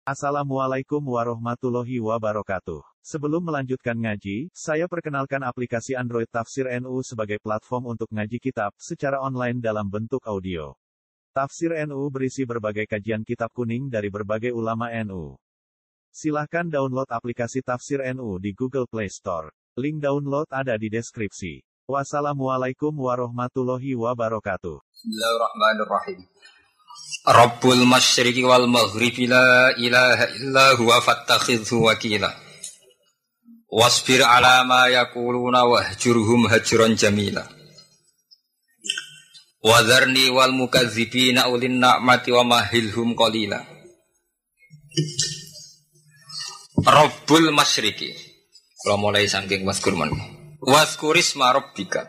Assalamualaikum warahmatullahi wabarakatuh. Sebelum melanjutkan ngaji, saya perkenalkan aplikasi Android Tafsir NU sebagai platform untuk ngaji kitab secara online dalam bentuk audio. Tafsir NU berisi berbagai kajian kitab kuning dari berbagai ulama NU. Silahkan download aplikasi Tafsir NU di Google Play Store. Link download ada di deskripsi. Wassalamualaikum warahmatullahi wabarakatuh. Bismillahirrahmanirrahim. Rabbul masyriqi wal maghribi la ilaha illa huwa fattakhidhu wakila. Wasbir ala ma yaquluna wahjurhum hajran jamila. Wadharni wal mukadzibina ulin na'mati wa mahilhum qalila. Rabbul masyriqi. Kalau mulai saking waskurman. Waskurisma rabbika.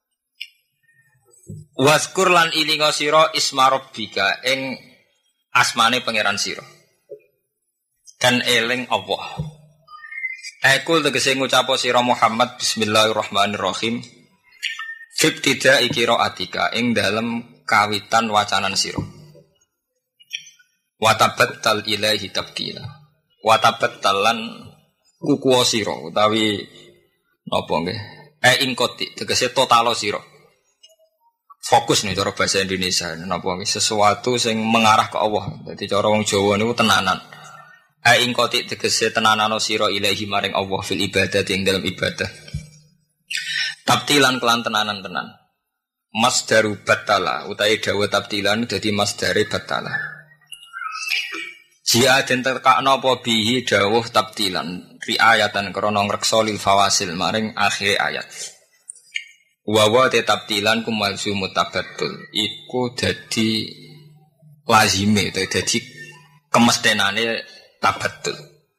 Waskur lan ilinga sira isma rabbika ing asmane pangeran sira. Dan eling Allah. Ekul tegese ngucap sira Muhammad bismillahirrahmanirrahim. Fibtida qiraatika ing dalem kawitan wacanan sira. Watabattal ilaihi tabtila. Watabattalan kukuwa sira utawi napa nggih? Ingkoti tegese totalo sira. Fokus nih cara bahasa Indonesia napa sesuatu sing mengarah ke Allah. Dadi cara wong Jawa niku tenanan. Ing kotik tegese tenanano sira ilahi maring Allah fil ibadah ing dalam ibadah. Tabtilan kelan tenanan-tenan. Masdaru batala utawi dawa tabtilan dadi masdare batala. Jia den tekakno apa bihi dawuh tabtilan riayatan krana ngreksa lil fawasil maring akhir ayat. Wawa tetaptilan kumalsu mutabatul iku dadi lazime dadi kemestinane tabatul.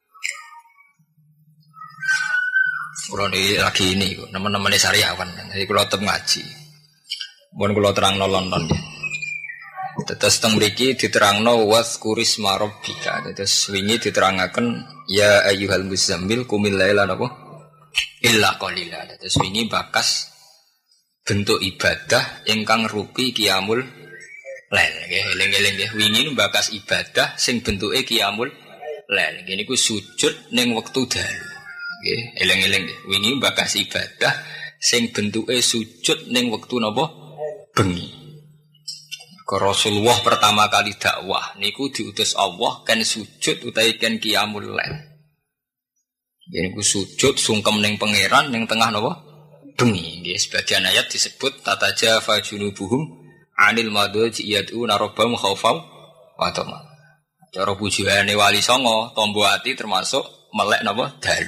Kulo lagi ini teman-teman sariawan jadi kulo tetep ngaji. Mun kulo terangno London ya. Tetes teng mriki diterangno waskurisma rabbika. Tetes wingi diterangaken ya ayyuhal muzammil qumil laila napa illa qalila. Tetes wingi bakas bentuk ibadah ingkang rupi qiyamul lail nggih eling-eling nggih wingi bakas ibadah sing bentuke qiyamul lail nggih niku sujud ning wektu dalu nggih eling-eling nggih wingi bakas ibadah sing bentuke sujud ning wektu napa bengi ke Rasulullah pertama kali dakwah niku diutus Allah kan sujud utawi kan qiyamul lail nggih niku sujud sungkem ning pangeran ning tengah napa bengi nggih sebagian ayat disebut tatajafa junubuhum anil madhaji yad'una rabbahum khaufan wa tama'an. Cara pujiane wali songo tombo ati termasuk melek napa dalu.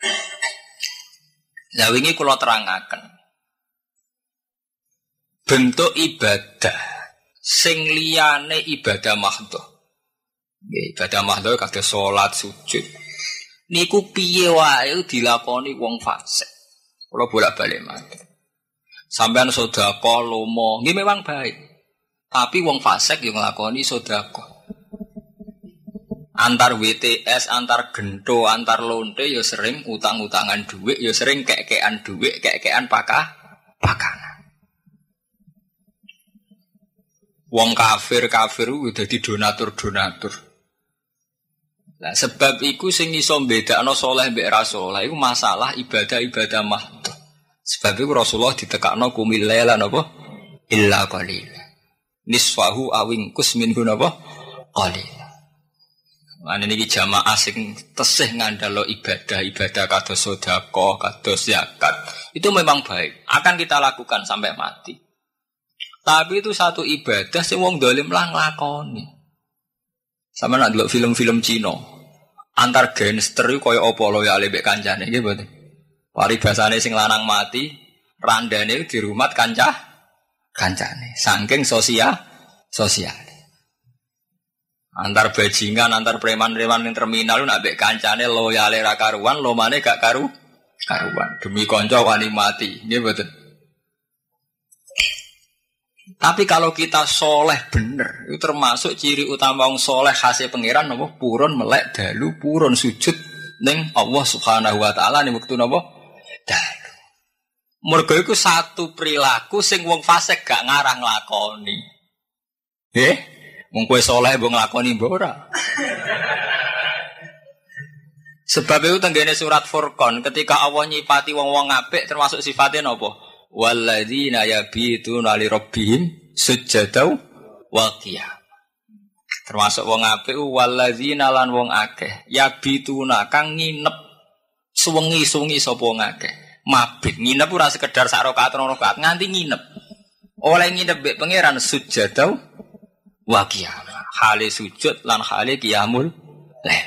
Lah wingi kula terangaken bentuk ibadah sing liyane ibadah mahdhah. Nggih ibadah mahdhah kados salat sujud. Niku piye wae dilakoni wong fasik. Kalau bolak-balik mati. Sampean sedekah lomo, nggih memang baik. Tapi wong fasik yo nglakoni sedekah. Antar WTS, antar gento, antar lonte yo sering utang-utangan dhuwit, yo sering kek-kekan dhuwit, kek-kekan pakanan. Wong kafir udah dadi donatur. Nah, sebab iku sing iso mbedakno saleh mbek ra saleh iku masalah ibadah mahdhah. Sebab iku Rasulullah ditekakno qumil laila napa illa qalila. Nisfahu awingkus minhu napa qalila. Mane niki jamaah sing tesih ngandalo ibadah kados sedekah, kados zakat. Itu memang baik, akan kita lakukan sampai mati. Tapi itu satu ibadah sing wong dolim lah nglakoni. Sama nak delok film-film Cina. Antar gangster iku kaya apa loyale mbek kancane nggih mboten. Paribasane sing lanang mati, randane dirumat kancane. Saking sosial. Antar bajingan, antar preman-preman ning terminal nak mbek kancane loyale ra karuan, lomane gak karuan. Demi kanca wani mati, nggih mboten. Tapi kalau kita soleh bener, itu termasuk ciri utama wong soleh khasnya pangeran napa purun melek dalu purun sujud ning Allah Subhanahu wa taala ning wektu napa dalu. Mergo iku satu perilaku sing wong fasik gak ngarah nglakoni. Wong kowe soleh mbok nglakoni mbok ora. Sebab itu tenggene surat Furqan ketika Allah nyipati wong-wong apik termasuk sifatnya napa? Walladzina yabituna li rabbihim sujadaw wa qiyam. Termasuk wong apik walladzina lan wong akeh yabituna kang nginep suwengi-suwengi sapa wong akeh. Mabit nginep ora sekedar sak rakaat rong rakaat nganti nginep. Oleh nginep mbek pangeran sujadaw wa qiyam. Hale sujud lan hale qiyamul lail.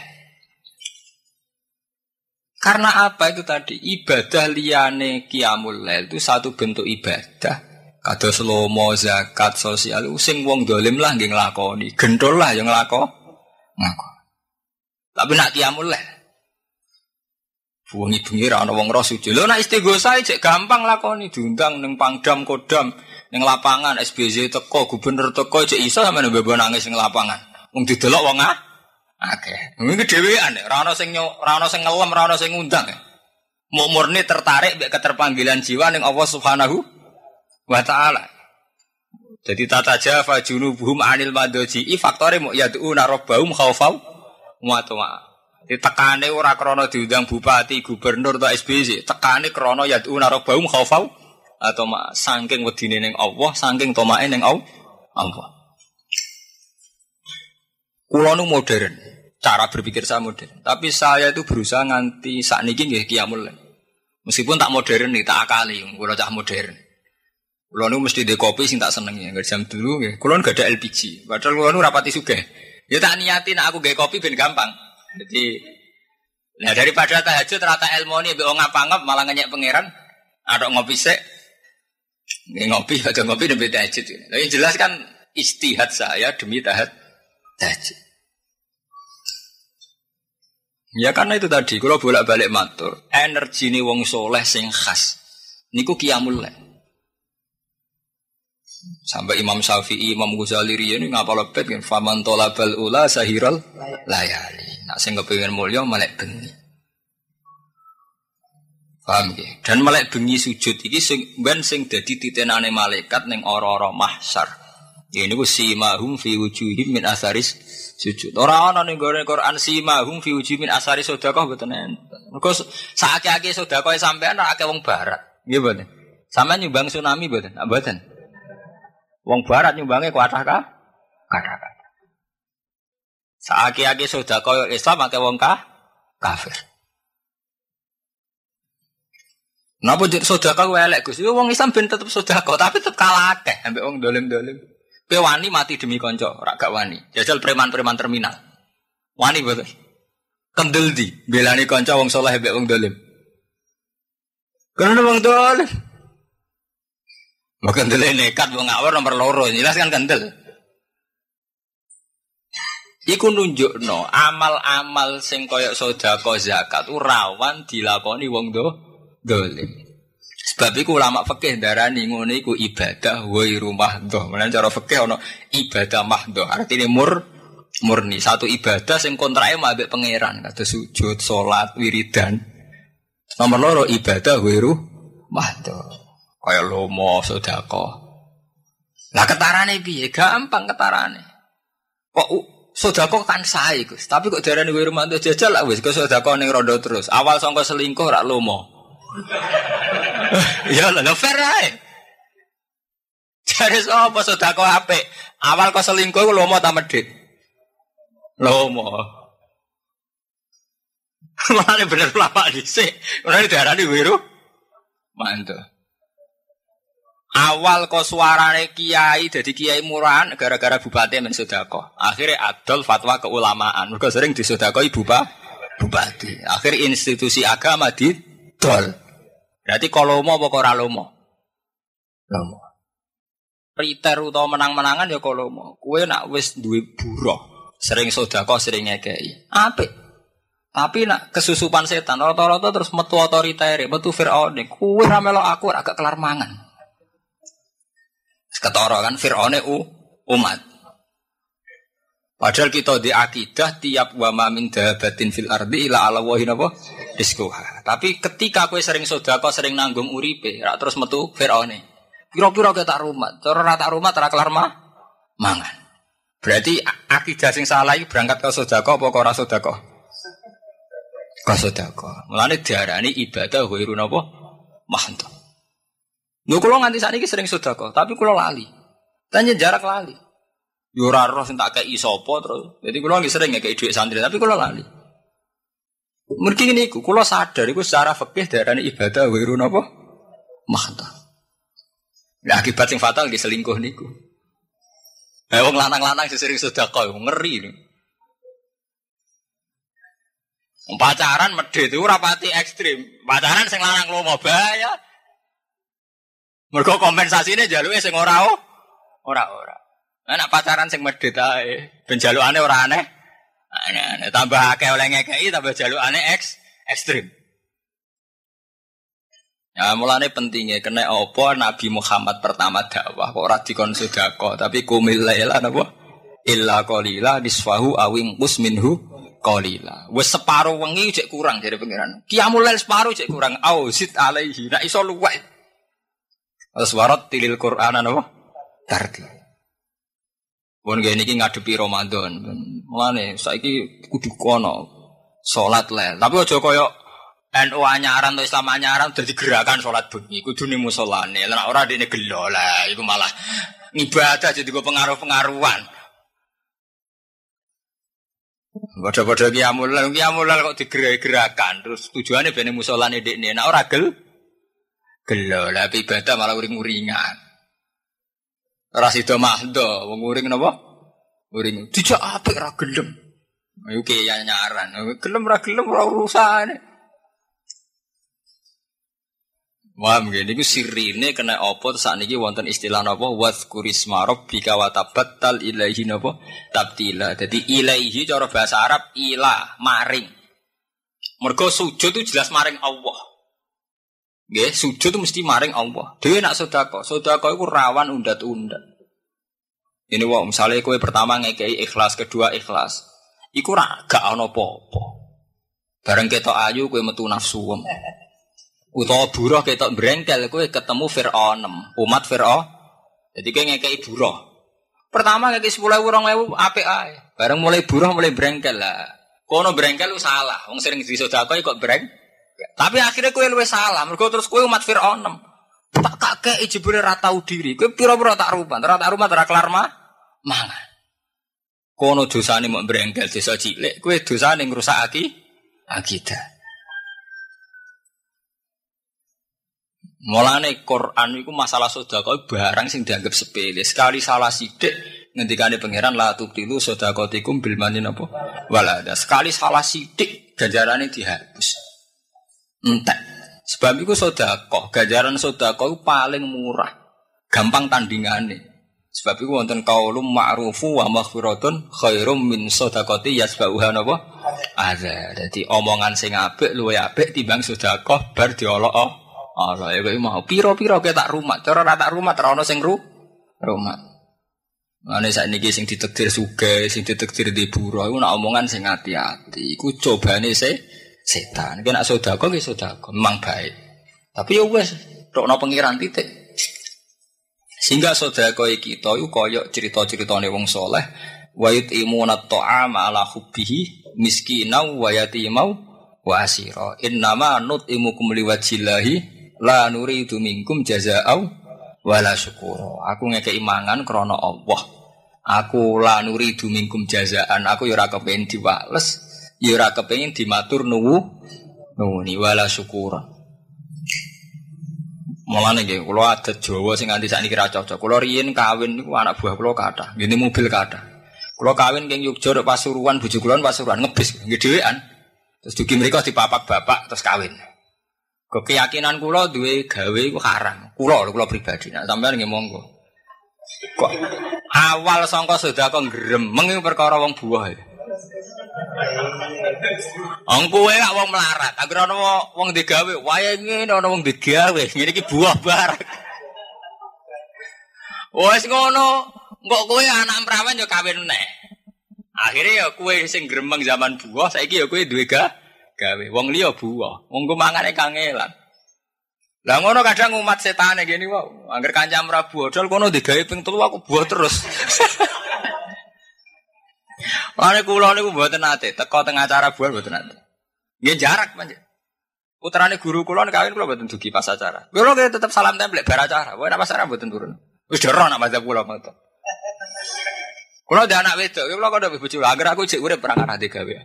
Karena apa itu tadi? Ibadah liyane qiyamul lail itu satu bentuk ibadah. Kados lomo, zakat, sosial, sing wong dolim lah nggih nglakoni. Gendol lah yang nglakoni. Tapi nak qiyamul lail. Bengi-bengi ra ana wong ro sujud. Lho nak istighosa cek gampang lakoni, diundang ning Pangdam Kodam, ning lapangan SBY teko, gubernur teko cek iso sampeyan mbebo nangis ning lapangan. Wong didelok wong akeh. Iki dhewean ora ana sing ngelem, ora ana sing ngundang. Mau murni tertarik mek keterpanggilan jiwa ning Allah Subhanahu wa taala. Jadi tata jafa junubuhum anil madaji faktore mu yaduna rabbahum khaufau wa tama. Ditekane ora krana diundang bupati, gubernur atau SBY, tekane krana yaduna rabbahum khaufau atau saking wedine ning Allah, saking tomae ning Allah. Kulo nu modern, cara berpikir saya modern. Tapi saya itu berusaha nganti sakniki nggih qiyamul lail. Meskipun tak modern nih, tak akali, kulo cah modern. Kulo nu mesti ndek kopi sing tak senengi. Enggak jam dulu nggih. Kulo enggak ada LPG. Padahal kulo nu rapati sugih. Ya tak niati nek aku gawe kopi ben gampang. Jadi nah daripada tahajud rata ilmoni mbek wong ngapa-ngap malah ngenyek pangeran, adok ngopi sik. Nggih ngopi, aja ngopi demi tahajud. Lah yang jelas kan istihad saya demi tahajud. Ya karena itu tadi, kalau bolak-balik matur, energi ini wong soleh sing khas. Niku qiyamul lail. Sampai Imam Syafi'i, Imam Ghazali ini ngapal lebet kan faman tolabal ula sahiral layali. Nak sing kepengin mulya melek bengi. Paham nggih? Dan melek bengi sujud iki sing dadi titenane malaikat ning ora-ora mahsyar. Ya niku simahum fi wujuhim min asaris sujud. Ora ana ning Quran simahum fi wujuhim min asaris sedekah mboten enten. Mergo sakake sedekah sampean ora akeh wong barat. Nggih mboten. Sampeyan nyumbang tsunami mboten? Mboten. Wong barat nyumbange kuatah ka? Kathah. Saaki-aki sedekah Islam akeh wong kafir. Napa dik sedekah kuwi elek Gus? Wong Islam ben tetep sedekah tapi tetep kalah akeh ambek wong dolim-dolim. Kowe wani mati demi kanca, ora gak wani. Jajal preman-preman terminal. Wani mboten. Kendel di belani kanca wong saleh ambek wong dolim. Karena wong dolim. Maka kendel nekat wong ngawur nomor loro, jelas kan kendel. Iku nunjukno amal-amal sing kaya sedekah zakat rawan dilakoni wong dolim. Sebab iku ulama fikih darani ngono iku ibadah ghairu mahdhah. Menawa cara fikih ana ibadah mahdhah, artine murni. Satu ibadah sing kontrake mbek pangeran, kados sujud, salat, wiridan. Nomor loro ibadah ghairu mahdhah. Kaya lomo, sedekah. Lah ketarane piye? Gampang ketarane. Kok sedekah kan sae, Gus. Tapi kok darane ghairu mahdhah jajal lah wis kok sedekah ning rondo terus. Awal sangka selingkuh rak lomo. Ya lho fair ae. Jare sapa sedekah apik? Awal kok selingkuh lomo ta medhit? Lomo. Mane bener lapak dhisik. Ora diarani ghairu mahdhah. Awal kok suarane kiai jadi kiai murahan gara-gara bupati men sedekah. Akhirnya adol fatwa keulamaan. Mergo sering disedekahi bupati. Akhir institusi agama didol. Berarti kalau lomo apa ora lomo? Lomo. Priter utawa menang-menangan ya kalau lomo. Kowe nak wis duwe buruh, sering sedekah, sering ngekeki. Apik. Tapi nak kesusupan setan rata-rata terus metu otoriter, metu Firaun. Kowe ra melok aku ora gak kelar mangan. Ketara kan Fir'aune umat. Padahal kita di akidah tiap wa ma min dabatin fil ardi ila ala wahi napa rizquha. Tapi ketika kowe sering sedekah, sering nanggung uripe, rak terus metu Fir'aune. Kira-kira ketak rumat, cara ora tak rumat ora kelar mangan. Berarti akidah sing salah iki berangkat ke sedekah apa ora sedekah? sedekah. Mulane diarani ibadah ghairu napa? Mahdhah. Lho kula nganti sakniki sering sedekah, tapi kula lali. Tanya jarak lali. Yo ora roh sing tak kei sapa terus. Jadi kula nggih sering ngekeki dhuwit santri, tapi kula lali. Mergi niku kula sadar iku secara fikih diarani ibadah ghairu napa? Mahdhah. Lah akibat sing fatal nggih selingkuh niku. Wong lanang-lanang sing sering sedekah ngeri lho. Pacaran medhit itu rapati ekstrim. Pacaran sing lanang lomo bahaya. Mergo kompensasine jaluke sing ora. Nek pacaran sing medhit ae, ben jalukane ora aneh. Aneh, tambah akeh oleh ngekeki tambah jalukane ekstrim. Ya mulane pentingnya kena apa Nabi Muhammad pertama dakwah kok ora dikon sedekah tapi kumil laila napa illa qalila nisfahu awing minhu qalila. Wis separo wengi cek kurang dari pengiran. Qiyamul lail separo cek kurang. Ausit alaihi. Nek iso luwih. Aswarat tilil Qur'an napa? Tarti. Wong ngene iki ngadepi Ramadan. Mulane saiki kudu kono salat lail. Tapi aja kaya NU anyaran atau Islam anyaran dadi gerakan salat bengi kudu ning musolane. Lah ora dene gelo lah iku malah ibadah jadi go pengaruh-pengaruhan. Padha-padha qiyamul lail kok digerak-gerakan terus tujuane ben musolane dekne nek ora gelo lah ibadah malah uring-uringan. Ora sida mahdo wong uring napa? Uring dijak apik ra gelem. Ayo ki anyaran. Gelem ra urusane. Wah, mungkin itu sirine kena apa saat ini wonten istilah apa wazkurisma rabbika wa tabattal ilaihi napa tabtila. Jadi ilaihi cara bahasa Arab ilah maring. Mergo sujud itu jelas maring Allah. Nggih, sujud itu mesti maring Allah. Dhewe nak sedekah iku rawan undat-undat. Ini wae misale kowe pertama ngekei ikhlas, kedua ikhlas. Iku gak ana apa-apa. Bareng ketok ayu kowe metu nafsu. Utawa buruh ketok brengkel kowe ketemu Firaun, umat Firaun. Jadi kowe ngekeki buruh. Pertama ngekeki 10.000 2.000 apik ae. Bareng mulai buruh mulai brengkel lah. Kono brengkel lu salah. Wong sering disedekah kok breng. Tapi akhirnya kowe luwih salah. Mergo terus kowe umat Firaun. Tak kakek jebule ra tau diri. Kowe pira-pira tak rumat, ora kelar mangan. Kono dosane mok brengkel desa cilik, kowe dosane ngrusak akidah. Mulane Quran iku masalah sedekah barang sing dianggap sepele. Sekali salah sithik ngendikane pangeran la tubtilu sedaqatikum bil manin apa? Walada. Sekali salah sithik ganjarane dihapus. Entek. Sebab iku sedekah, ganjaran sedekah iku paling murah. Gampang tandingane. Sebab iku wonten qaulum ma'rufu wa maghfiratun khairum min sedaqati yasbauha napa? Ada. Dadi omongan sing apik luwih apik timbang sedekah bar diolok. Allah ya kowe mau pira-pira kowe tak rumat. Cara ora tak rumat ora ono sing rumat. Mane sakniki sing ditakdir sugih, sing ditakdir di buruh iku nak omongan sing ati-ati. Iku cobane setan. Nek nak sedekah ki sedekah memang baik. Tapi ya wis tokno pengiran titik. Sehingga sedekah kita iku kaya cerita-ceritane wong saleh wa yutimuna ta'ama ala hubbihi miskinau wa yatimau wa asira. Innama nutimukum liwajillahi la nuridu minkum jazaa'u wala syukura. Aku ngekeki mangan krana Allah. Aku la nuridu minkum jazaa'an. Aku ya ora kepengin diwales, ya ora kepengin dimatur nuwuni wala syukura. Mulane nggih kula adat Jawa sing nganti sakniki ra cocok. Kula riyen kawin niku anak buah kula kathah, ngene mobil kathah. Kula kawin king Yogya nek Pasuruan, bojo kula Pasuruan ngebis nggih dhewean. Terus dugi mriko dipapak bapak terus kawin. Keyakinan kula duwe gawe iku haram. Kula pribadi. Nek sampeyan nggih monggo. Kok awal sangka sedekah gremeng iku perkara wong buah. Wong kowe gak wong melarat. Anggere ana wong digawe, wae ngene ana wong digawe. Ngene iki buah barang. Wes ngono, kok kowe anak prawan yo kawin neh. Akhire ya kowe sing gremeng zaman buah, saiki ya kowe duwe gawe. Wong liya buah. Wong ku mangane kangelan. Lah ngono kadang umat setane gini wae. Angger kancam ra buah, dol kono digawe ping 3 aku buah terus. Mane kula niku mboten nate teko teng acara buah mboten nate. Nggih jarak pancen. Putrane guru kula kawin kula mboten dugi pas acara. Kula tetep salam templek bar acara. Wae pas acara mboten turun. Wis dero nak mazhab kula mboten. Kula ada anak wedok, kula kok ndek bojo. Angger aku jek urip perang arah gawe.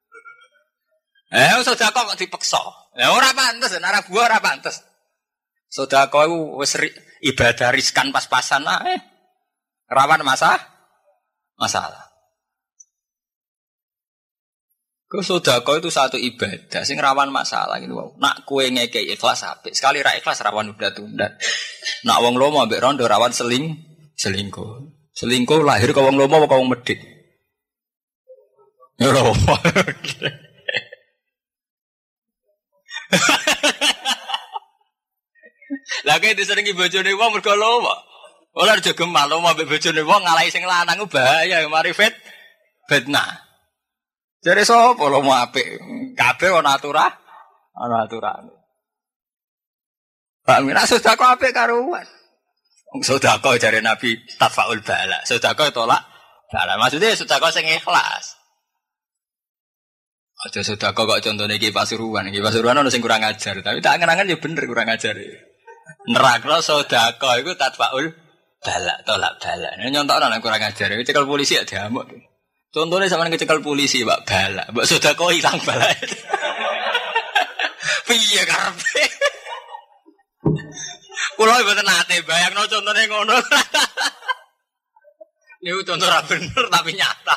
Sedekah kok dipeksa. Ora pantes, nek buah ora pantes. Sedekah iku wis ibadah riskan pas-pasan ae. Rawan masalah. Sedekah itu satu ibadah sing rawan masalah gitu. Nak kowe ngekeki ikhlas apik. Sekali ra ikhlas rawan udat-udat. Nak wong lomo ambek rondo rawan selingkuh. Selingkuh lahir ke wong lomo apa wong medhit? Ya lomo. Lah kene disenengi bojone wong mergo lomo. Ora aja gemal lomo ambek bojone wong ngalahi sing lanang ku bahaya mari fitnah. Jare sapa lomo apik? Kabeh ana aturane. Pak Mina sedekah apik karuan. Sedekah jare Nabi tafaul bala. Sedekah tolak bala. Maksudnya sedekah sing ikhlas. Aja sedekah kok contone iki Pasuruan. Iki Pasuruan ono sing kurang ajar, tapi tak angen-angen ya bener kurang ajar. Nerakno sedekah iku tafaul bala, tolak bala. Nyontokno nek kurang ajar. Cekel polisi ya diamuk. Contohnya sampean kecekel polisi, Pak bala. Mbok sedekah ilang bala. Piye karepe? Kulo mboten nate bayangno contone ngono. Niku contoh ra bener tapi nyata.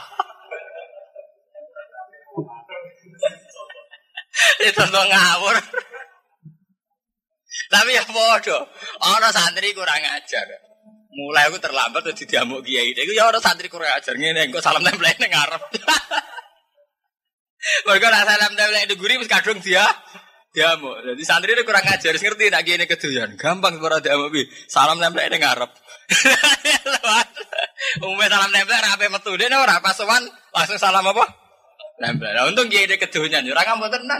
Itu contoh ngawur. Tapi ya padha. Ana santri kurang ajar. Mulai aku terlambat terus diamuk kiai. Iku ya ana santri kurang ajar ngene engko salam templek ning ngarep. Mergo nek salam templek nduguri wis kadung diamuk. Jadi santri ini kurang ajar, ngerti nak gini kedoyan. Gampang ora diamuk pi. Salam templek ning ngarep. Umumnya salam templek ra ape metu dene ora pas sowan langsung salam apa? Templek. Lah untung gini kedoyan ora ngambek tenan.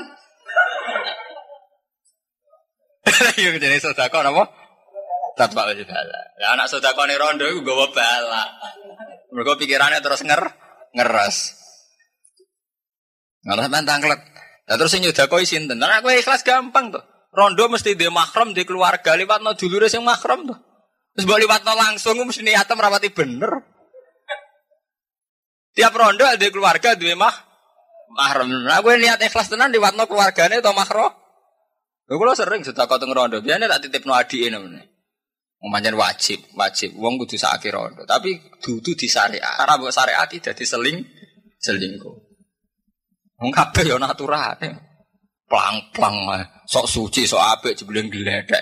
Yo jadi sedekah napa? Tatbak wis bala. Lah anak sedekah ning rondo iku nggawa bala. Mergo pikirannya terus ngeres. Ngalah tangklet. Lah terus sing nyedakoi sinten? Nek kowe ikhlas gampang to. Rondo mesti dhe mahram, dhe keluarga, liwatno dulure sing mahram to. Terus mbok liwatno langsung mesti niatem rapati bener. Tiap rondo dhe keluarga duwe mahram. Nek kowe niat ikhlas tenan liwatno keluargane to mahram. Lho kula sering sedekah teng rondo. Biasane tak titipno adike nemene. Pancen wajib. Wong kudu sakake rondo, tapi dudu disyariat. Ora mbok syariati dadi selingkuh. Wong kabeh ya naturane. Plang-plang sok suci, sok apik jebule gledek.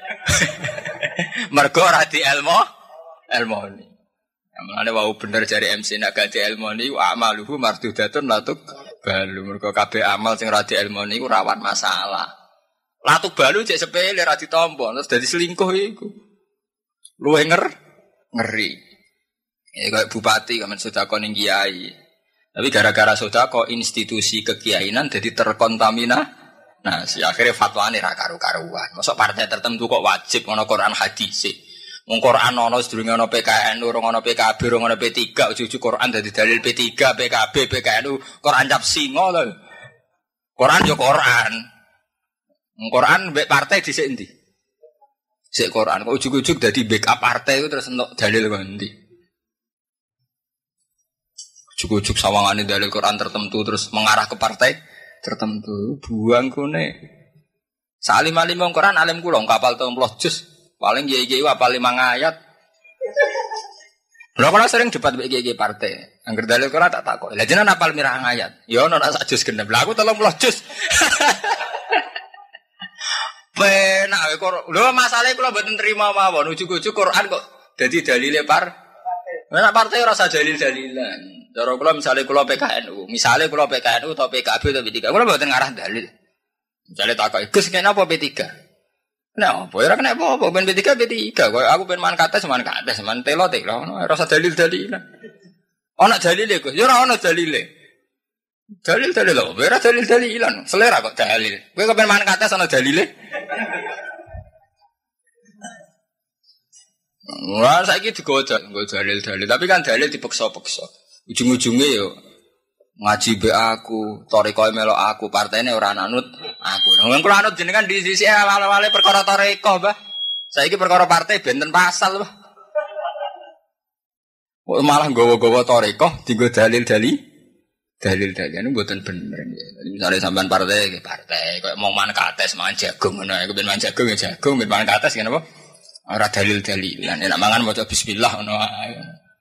Mergo ora di ilmoni. Amane wau bener jare MC nek gak di ilmoni wa amaluhu mardudatun latuk balu. Mergo kabeh amal sing ora di ilmoni iku rawan masalah. Latuk balu cek sepele ora ditampa terus dadi selingkuh iku. Luwih ngeri. Ya kayak bupati kamen sedekah ning kiai. Tapi gara-gara sedekah institusi kekiainan jadi terkontaminasi. Akhirnya fatwane ra karu-karuan. Mosok partai tertentu kok wajib ngono Quran hadis. Wong Quran ono sedurunge ono PKN, urung ono PKB, urung ono P3, ujug-ujug Quran dadi dalil P3, PKB, PKNU, Quran cap singo lho. Quran yo Quran. Quran mbek partai dhisik endi? Sik Quran kok ujug-ujug dadi backup partai itu terus entuk dalil kok endi? Ujug-ujug sawangane dalil Quran tertentu terus mengarah ke partai tertentu. Buang kene. Salim-alim wong Quran alim kula kapal 30 juz. Paling kiai-kiai apal 5 ayat. Lha kula sering debat mbek kiai partai. Angger dalil Quran tak takok. Lah jenengan apal mirah ayat? Ya ono sak juz genep. Lah aku 30 juz. Penak kok. Lho masalahe kula mboten trima mawon. Ujug-ujug Quran kok dadi dalile nek partai ora usah dalil-dalilan. Cara kula misale kula PKNU, atau PKB atau P3. Kula mboten ngarah dalil. Misale takoki, "Gus, kenapa P3?" Nah, apa ora kena apa-apa ben P3 P3. Kok aku ben man kates, man telo. Ora usah dalil-dalilan. Ana dalile, Gus. Ya ora ana dalile. Dalil-dalil lho, ora dalil-dalilan. Selera kok dalil. Kowe kepen man kates ana dalile? Wah, saiki digoda dalil-dalil, tapi kan dalil dipeksa-peksa. Ujung-ujungnya yo Ngaji be aku, toriko melok aku, partene ora anut aku. Wong kula anut jenengan di sisi awal-awale perkara toriko, Mbah. Saiki perkara partai benten pasal, Mbah. Malah nggawa-gawa toriko dienggo dalil-dalil ini mboten bener. Misale sampean partai koyo mau mangan kates, mangan jagung ngono. Iku ben mangan jagung ya jagung, ben mangan kates ngene apa? Ora dalil-dalilan. Nek mangan maca bismillah ngono ae.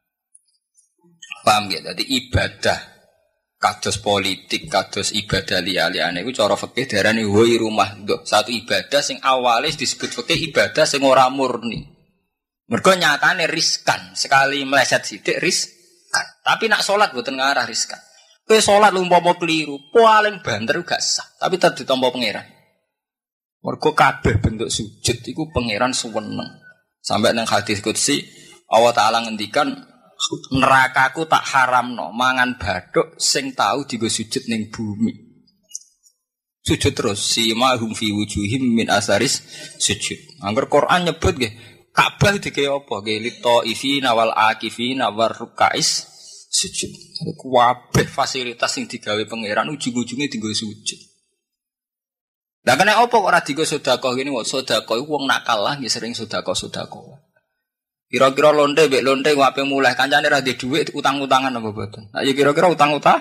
Paham ya? Dadi ibadah kados politik, kados ibadah liyane iku cara fikih diarani ghairu mahdhuf. Satu ibadah sing awale disebut fikih ibadah sing ora murni. Mergo nyatane riskan, sekali meleset sithik riskan. Tapi nak salat mboten ngarah riskan. Kowe salat umpama keliru, paling banter gak sah, tapi tetep ditampa pangeran. Mergo kabeh bentuk sujud iku pangeran suweneng. Sampai nang hadis qudsi Allah Taala ngendikan nerakaku tak haramno mangan bathuk sing tau dienggo sujud ning bumi. Sujud terus simahum fi wujuhim min asaris sujud. Angger Quran nyebut nggih Ka'bah dike apa? Nggih litaifina wal akifina war rukais sujud. Kabeh fasilitas sing digawe pangeran ujung-ujunge dienggo sujud. Lah kene apa kok ora dienggo sedekah ngene kok sedekah iku wong nakal lah nggih sering sedekah. Kira-kira lonte mbek lonte wape mulai kancane ra ndek dhuwit utang-utangan apa boten. Nah ya kira-kira utang-utang.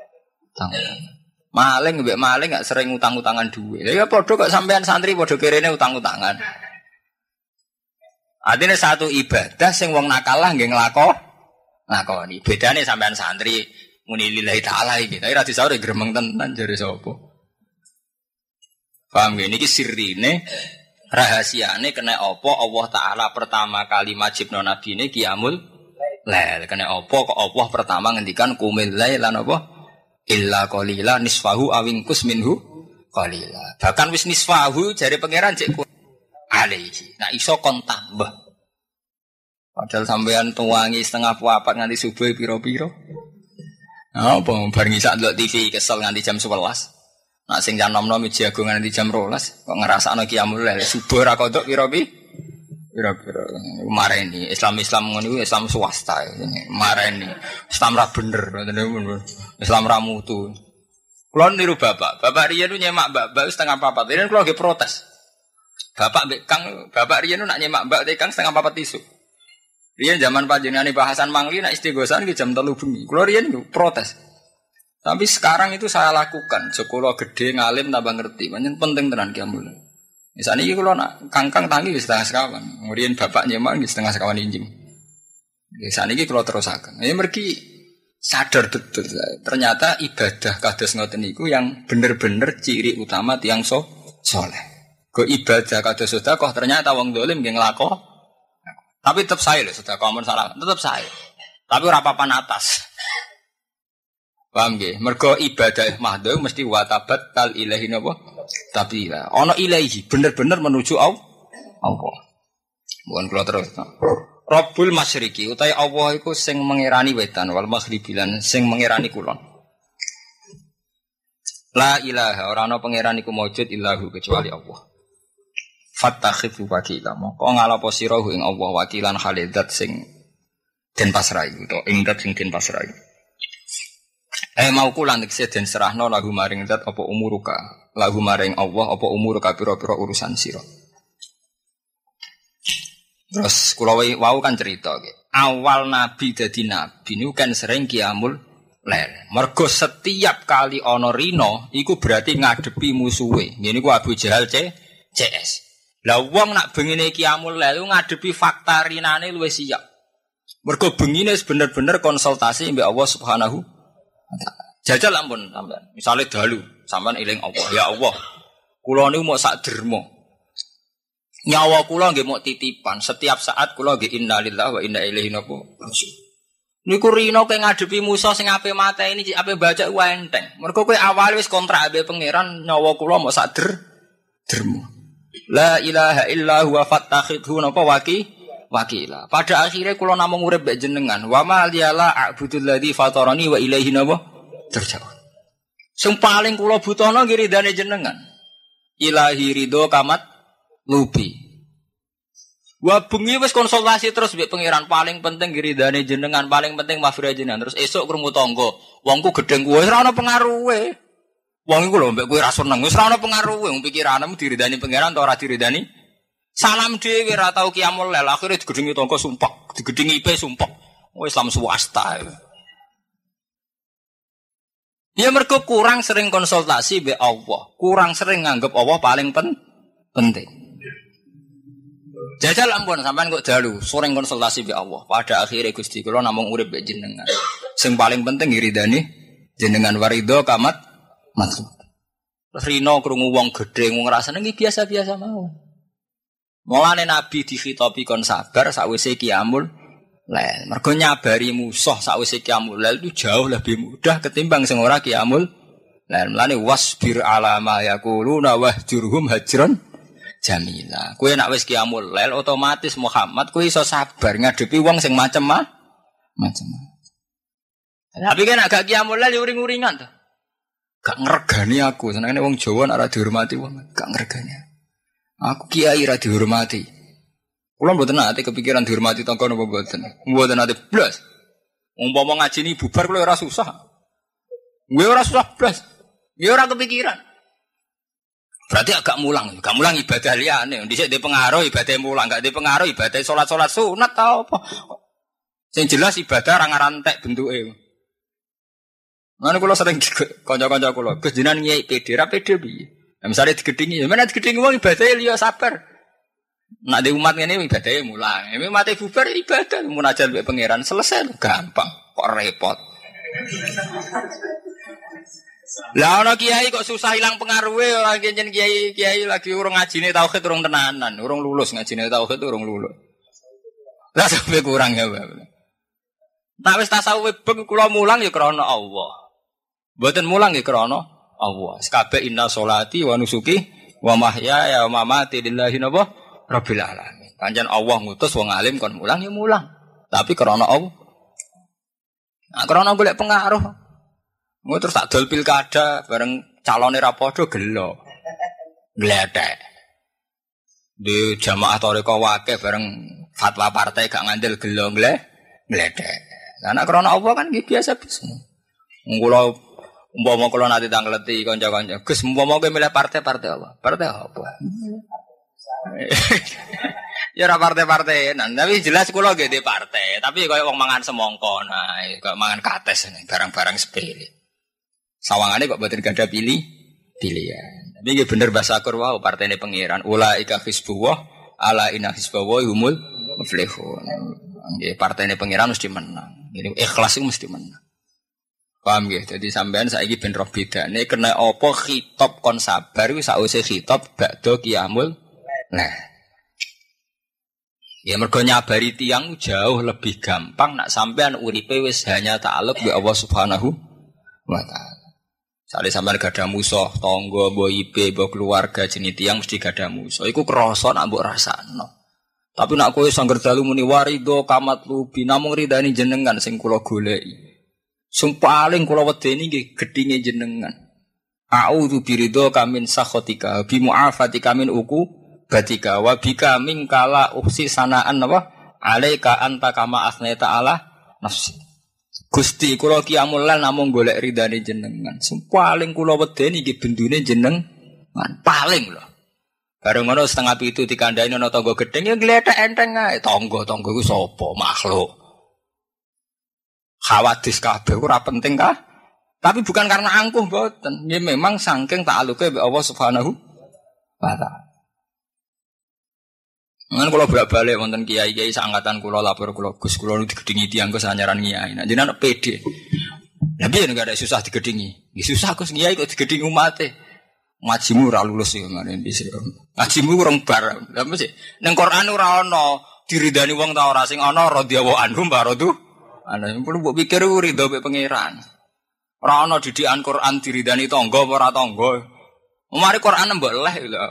Maling mbek maling gak sering utang-utangan dhuwit. Ya padha kok sampean santri padha kerene utang-utangan. Artinya satu ibadah sing wong nakal lah nggih nglakoni. Bedane sampean santri muni lillahi taala iki. Tapi ra disaure gremeng tenan jare sapa. Paham nggih niki sirrine rahasiane kena apa Allah taala pertama kali majibno nabine qiyamul lail. Kena apa kok Allah pertama ngendikan qumil lail lan apa illa qalila nisfahu awingkus minhu qalila. Bahkan wis nisfahu jare pangeran cek alaihi. Nah iso kon tambah. Padahal sampean tuwangi setengah papat nganti subuh piro-piro. Nah, apa bareng isak ndelok TV kesel nganti jam 11. Nak sing jam 6 jago nganti jam 12 kok ngrasakno qiyamul lail subuh ra kodok piro-piro. Mareni Islam ngono iku Islam swasta. Mareni Islam ra bener, Islam ra mutu. Kulo niru bapak riyen nyemak mbak setengah papat. Riyen kulo nggih protes. Bapak riyen nak nyemak mbak tekang setengah papat isu. Riyen zaman panjenengane bahasan mangli nak istighosan ki jam 3 bengi. Kulo riyen protes. Tapi sekarang itu saya lakukan. Sekolah gede ngalim tambah ngerti. Pancen penting tenan qiyamul. Misale iki kulo nak kangkang tangi wis setengah sekawan. Riyen bapak nyemak wis setengah sekawan injing. Misale iki kulo terusaken. Ya mergi sadar betul. Ternyata ibadah kados ngoten niku yang bener-bener ciri utama tiyang saleh. Go ibadah kados sedekah ternyata wong dolim nggih nglakoni. Tapi tetap saya loh, sudah komen salah, tetap saya. Tapi ora papan atas. Paham nggih? Mergo ibadah mahdhu mesti watabat tal ilahi napa? Tabila. Ana ilahi bener-bener menuju Allah. Mohon kula terus. Rabbul Masyriqi utawi Allah iku sing mengirani wetan wal maghribi lan sing mengirani kulon. La ilaha ora ana pangeran iku maujud illahu kecuali Allah. Fattakhidhu wakila moko ngalapo sira ing Allah wakilan khalidat sing den pasrai utawa ing dat sing den pasrai. Mau kula nek den serahno lagu maring dat apa umuruka lagu maring Allah apa umuruka pira-pira urusan sira. Terus kula wau kan cerita awal nabi dadi nabi niku kan sering qiyamul lail. Mergo setiap kali ana rina iku berarti ngadepi musuhe. Ngene ku Abu Jahal CS. Lah wong nak bengine qiyamul lail ngadepi fakta rinane luwih siap. Mergo bengine bener-bener konsultasi mbek Allah Subhanahu wa taala. Jajal ampun sampean. Misale dalu, sampean eling Allah, ya Allah. Kula niku mau sak derma. Nyawa kula nggih mau titipan. Setiap saat kula nggih innalillahi wa inna ilaihi raji'un. Niku rino kowe ngadepi musuh sing ape mateni, ape baca ku enteng. Mergo kowe awal wis kontrak ambek pangeran, nyawa kula mau sak derma. La ilaha illa huwa fattakhidhu napa wakila. Pada akhirnya kula namung urip mbek jenengan. Wa ma liyala a'budul ladzi fatarani wa ilaihi napa terjauh. Sing paling kula butuhno nggih ridane jenengan. Ilahi ridho kamat lubi. Wah bengi wis konsultasi terus mbek pangeran paling penting ridane jenengan, paling penting mafira jenengan. Terus esuk krungu tangga, wongku gedeng kowe wis ora ana pengaruhe. Wong iku lho mbek kowe ra seneng, wis ora ana pengaruhe wong pikiranmu diridani pangeran ta ora diridani. Salam dhewe ora tau kiamul lail, akhire digedhengi tangga sumpek, digedhengi IP sumpek. Islam swasta. Ya mergo kurang sering konsultasi mbek Allah, kurang sering nganggep Allah paling penting. Jajal ampun sampean kok dalu, sering konsultasi mbek Allah. Pada akhirnya Gusti kula namung urip mbek jenengan. Sing paling penting ridani jenengan warido kamat maksud. Rino krungu wong gedhe wong rasane iki biasa-biasa mawon. Mulane Nabi dikhitopi kon sabar sakwise qiyamul lail. Mergo nyabari musuh sakwise qiyamul lail itu jauh lebih mudah ketimbang sing ora qiyamul lail. Mulane wasbir ala ma yaquluna wahjurhum hajran jamila. Kowe nek wis qiyamul lail otomatis Muhammad kowe iso sabar ngadepi wong sing macem-macem. Tapi kan agak qiyamul lail uring-uringan to. Gak ngregani aku, senengane wong Jawa nek ora dihormati wong, gak ngregani. Aku kiai ra dihormati. Kula mboten nate kepikiran dihormati tangga napa mboten. Mboten nate blas. Umpama ngaji ni bubar kula ora susah. Kowe ora susah blas. Ya ora kepikiran. Berarti agak mulang ibadah liyane. Dhisik dhe pengaruh ibadah mulang, gak dhe pengaruh ibadah salat-salat sunat ta apa. Sing jelas ibadah ra ngarantek bentuke. Mana kula sering kanca-kanca kula, Gus jenengan nyai PD ra PD piye? Nah, misale digedhingi, ya men digedhingi wong ibadah liya sabar. Nek dhe umat ngene ibadahe mulang. Nek mate bubar ibadah munajat mbek pangeran selesai gampang, kok repot. Lah ana kiai kok susah ilang pengaruhe ora kencen kiai lagi urung ngajine tauhid urung tenanan, urung lulus ngajine tauhid urung lulus. Lah sampe kurang ya, Pak. Nek wis tasawuf beng kula mulang ya krana Allah. Mboten mulang ya krana Allah. Kabeh inna sholati wa nusuki wa mahyaya wa mamati lillahi rabbil alamin. Pancen Allah ngutus wong alim kon mulang ya mulang. Tapi krana Allah. Nah krana golek pengaruh. Mau terus tak dol pilkada bareng calone ra padha gelo. Gledek. Di jamaah toriko wakeh bareng fatwa partai gak ngandel gelo gledek. Lah nek krana Allah kan nggih biasa-biasa. Kula umpama kula nate tangleti kanca-kanca, Gus umpama kowe milih partai-partai apa? Partai apa? Ya ora partai-partai, tapi jelas kula nggih di partai, tapi kaya wong mangan semongko, nah kaya mangan kates barang-barang sepele. Sawangane kok mboten gadah pilihan. Tapi nggih bener bahasa Qur'an wau partene pangeran. Ulaika hizbullah ala inna hizballahi humul muflihun. Nggih partene pangeran mesti menang. Jadi ikhlas itu mesti menang. Paham nggih? Dadi sampean saiki ben roh bedane kena apa khitab kon sabar iku sakwise khitab ba'da qiyamul. Nah. Ya mergo nyabari tiyang jauh lebih gampang nak sampean uripe wis hanya ta'alluq bi Allah Subhanahu wa taala. Sale sampean gadah musuh, tangga, mbok ipe, mbok keluarga jenis tiyang mesti gadah musuh. Iku krasa nak mbok rasakno. Tapi nak kowe sangger dalu muni warido kamat lubi namung ridani jenengan sing kula goleki. Sing paling kula wedeni nggih gedhinge jenengan. A'udzu biridho kamin sakhatika bi mu'afatika min uku batika wa bika min kala uksi sanaan apa alaika anta kama asnaita ala nafsi. Gusti kula qiyamul lail namung golek ridane jenengan. Sing paling kula wedeni nggih bendune jenengan. Paling lho. Bareng ngono setengah pitu dikandhani ana tangga gedeng ya glethek enteng ae. Tangga-tangga iku sapa? Makhluk. Khawatis kabeh ora penting kah? Tapi bukan karena angkuh mboten. Ya memang saking ta'aluke mbek Allah Subhanahu wa taala. Ngan kula bolak-balik wonten kiai-kiai sangatan kula lapor kula Gus kula digedhingi tiyang Gus anyaran kiai. Nah jenengan pede. Lah piye nek ada susah digedhingi? Nggih susah Gus kiai kok digedhingi umate. Ngajimu ora lulus ya ngene iki. Ngajimu kurang bar. Lah mesti ning Quran ora ana diridani wong ta ora sing ana radhiyallahu anhum baradu. Ana perlu mbok pikir ridho mek pangeran. Ora ana didikan Quran diridani tangga apa ora tangga. Mari Quran mbok leh lho.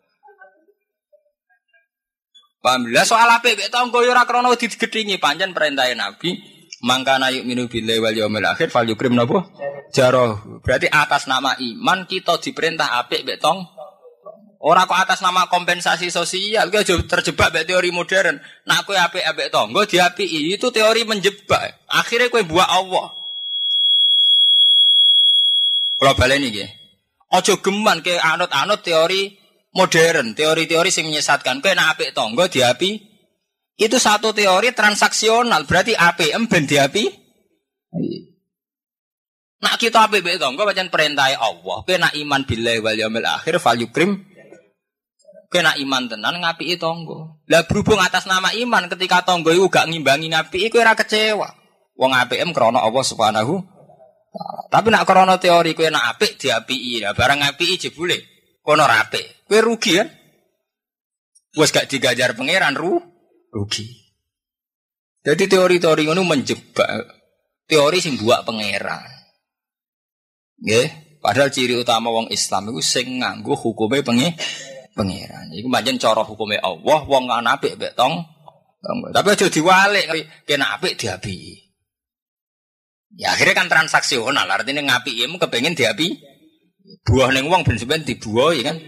Alhamdulillah soal apik mek tangga ya ora krana digedhingi pancen perintah Nabi mangkana yu'minu billahi wal yaumil akhir falyukrim napa jarah. Berarti atas nama iman kita diperintah apik mek tangga. Ora kok atas nama kompensasi sosial, kowe aja terjebak mek teori modern. Nak kowe apik-apik tangga diapiki, itu teori menjebak. Akhirnya kowe buak Allah. Kula baleni nggih. Aja geman ke anut-anut teori modern, teori-teori sing menyesatkan. Kowe nak apik tangga diapi. Itu satu teori transaksional, berarti APM ben diapi. Nak kita apik-apik tangga pancen perintah Allah. Kowe nak iman billahi wal yaumil akhir fal yukrim. Kena iman tenan ngapiki tangga. Lah berhubung atas nama iman ketika tangga iku gak ngimbangi ngapiki kowe ora kecewa. Wong APM krana Allah Subhanahu taala. Tapi nak krana teori kowe nak apik diapiki. Lah barang ngapiki jebule kono ora apik. Kowe rugi kan? Wes gak digajar pangeran rugi. Jadi teori-teori ngono menjebak. Teori sing buak pangeran. Nggih, padahal ciri utama wong Islam iku sing nganggo hukume pangeran. Iku pancen cara hukume Allah, wong ana apik mek tong. Tapi aja diwalik, kena apik diapi. Ya akhirnya kan transaksional, artinya ngapiki mu kepengin diapi. Buah ning wong ben sampean dibuah ya kan.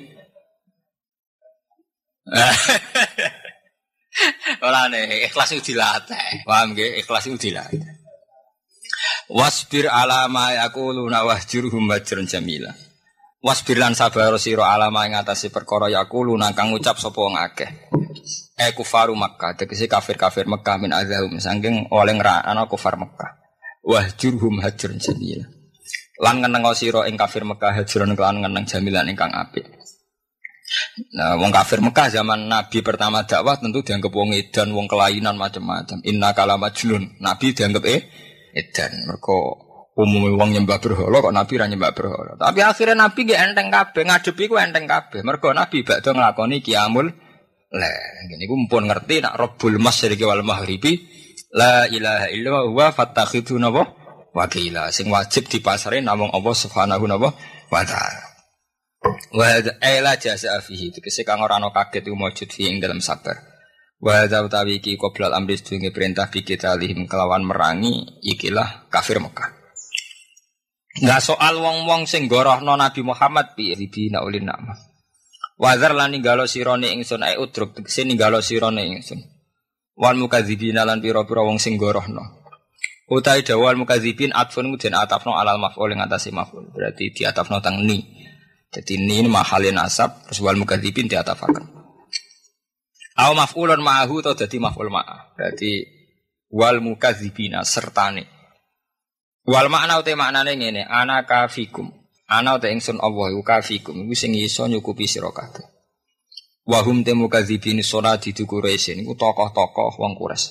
Ora nek ikhlas itu dilatih. Paham nggih? Ikhlas itu dilatih. Wasbir ala ma yaquluna wahjurhum hajran jamila. Wasbir lan sabar sira alama ing atase perkara yaquluna kang ngucap sapa wong akeh. Kufaru Makkah, tegese kafir-kafir Mekah min azahum saking oleh ngrana kufar Mekah. Wahjurhum hajrun jamila. Lan ngeneng sira ing kafir Mekah hajrun kelan ngeneng jamilan ingkang apik. Nah, wong kafir Mekah zaman Nabi pertama dakwah tentu dianggap wong edan, wong kelainan macam-macam. Inna kala majnun. Nabi dianggap edan. Mergo umumnya wong nyembah berhala kok Nabi ra nyembah berhala. Tapi akhirnya Nabi nggih enteng kabeh, ngadepi ku enteng kabeh. Mergo Nabi bakda nglakoni qiyamul lail. Ngene iku mumpun ngerti nak Rabbul Masyriqi wal Maghribi la ilaha illa huwa fattakhidhu wakila. Sing wajib dipasare namung Allah Subhanahu wa taala. Wa ila jazaa fihi tegese kang ora ana kaget iku mujud fi ing dalam sabar. Wa utawi iki qoblal amri sedunge perintah bi kita lihim kelawan merangi ikilah kafir Mekah. Enggak soal wong-wong sing gorohno Nabi Muhammad piye dibina ulin nama. Wazar lan ninggalo sirone ingsun ae udruk tegese ninggalo sirone ingsun. Wal mukadzibina lan pira-pira wong sing gorohno. Utai dawal mukadzibin atfun muden atafno alal maf'ul ing atase maf'ul. Berarti diatafno teng ni. Jadi ni mahalin nasab terus wal mukadzibin diatafaken. Aw maf'ulun ma'ahu to dadi maf'ul ma'ah. Berarti wal mukadzibina sertane. Wal makna uta maknane ngene, ana kafikum. Ana uta ingsun Allah iku kafikum, iku sing iso nyukupi sira kabeh. Wa hum temukadzibin salati Quraisy niku tokoh-tokoh wong Quraisy.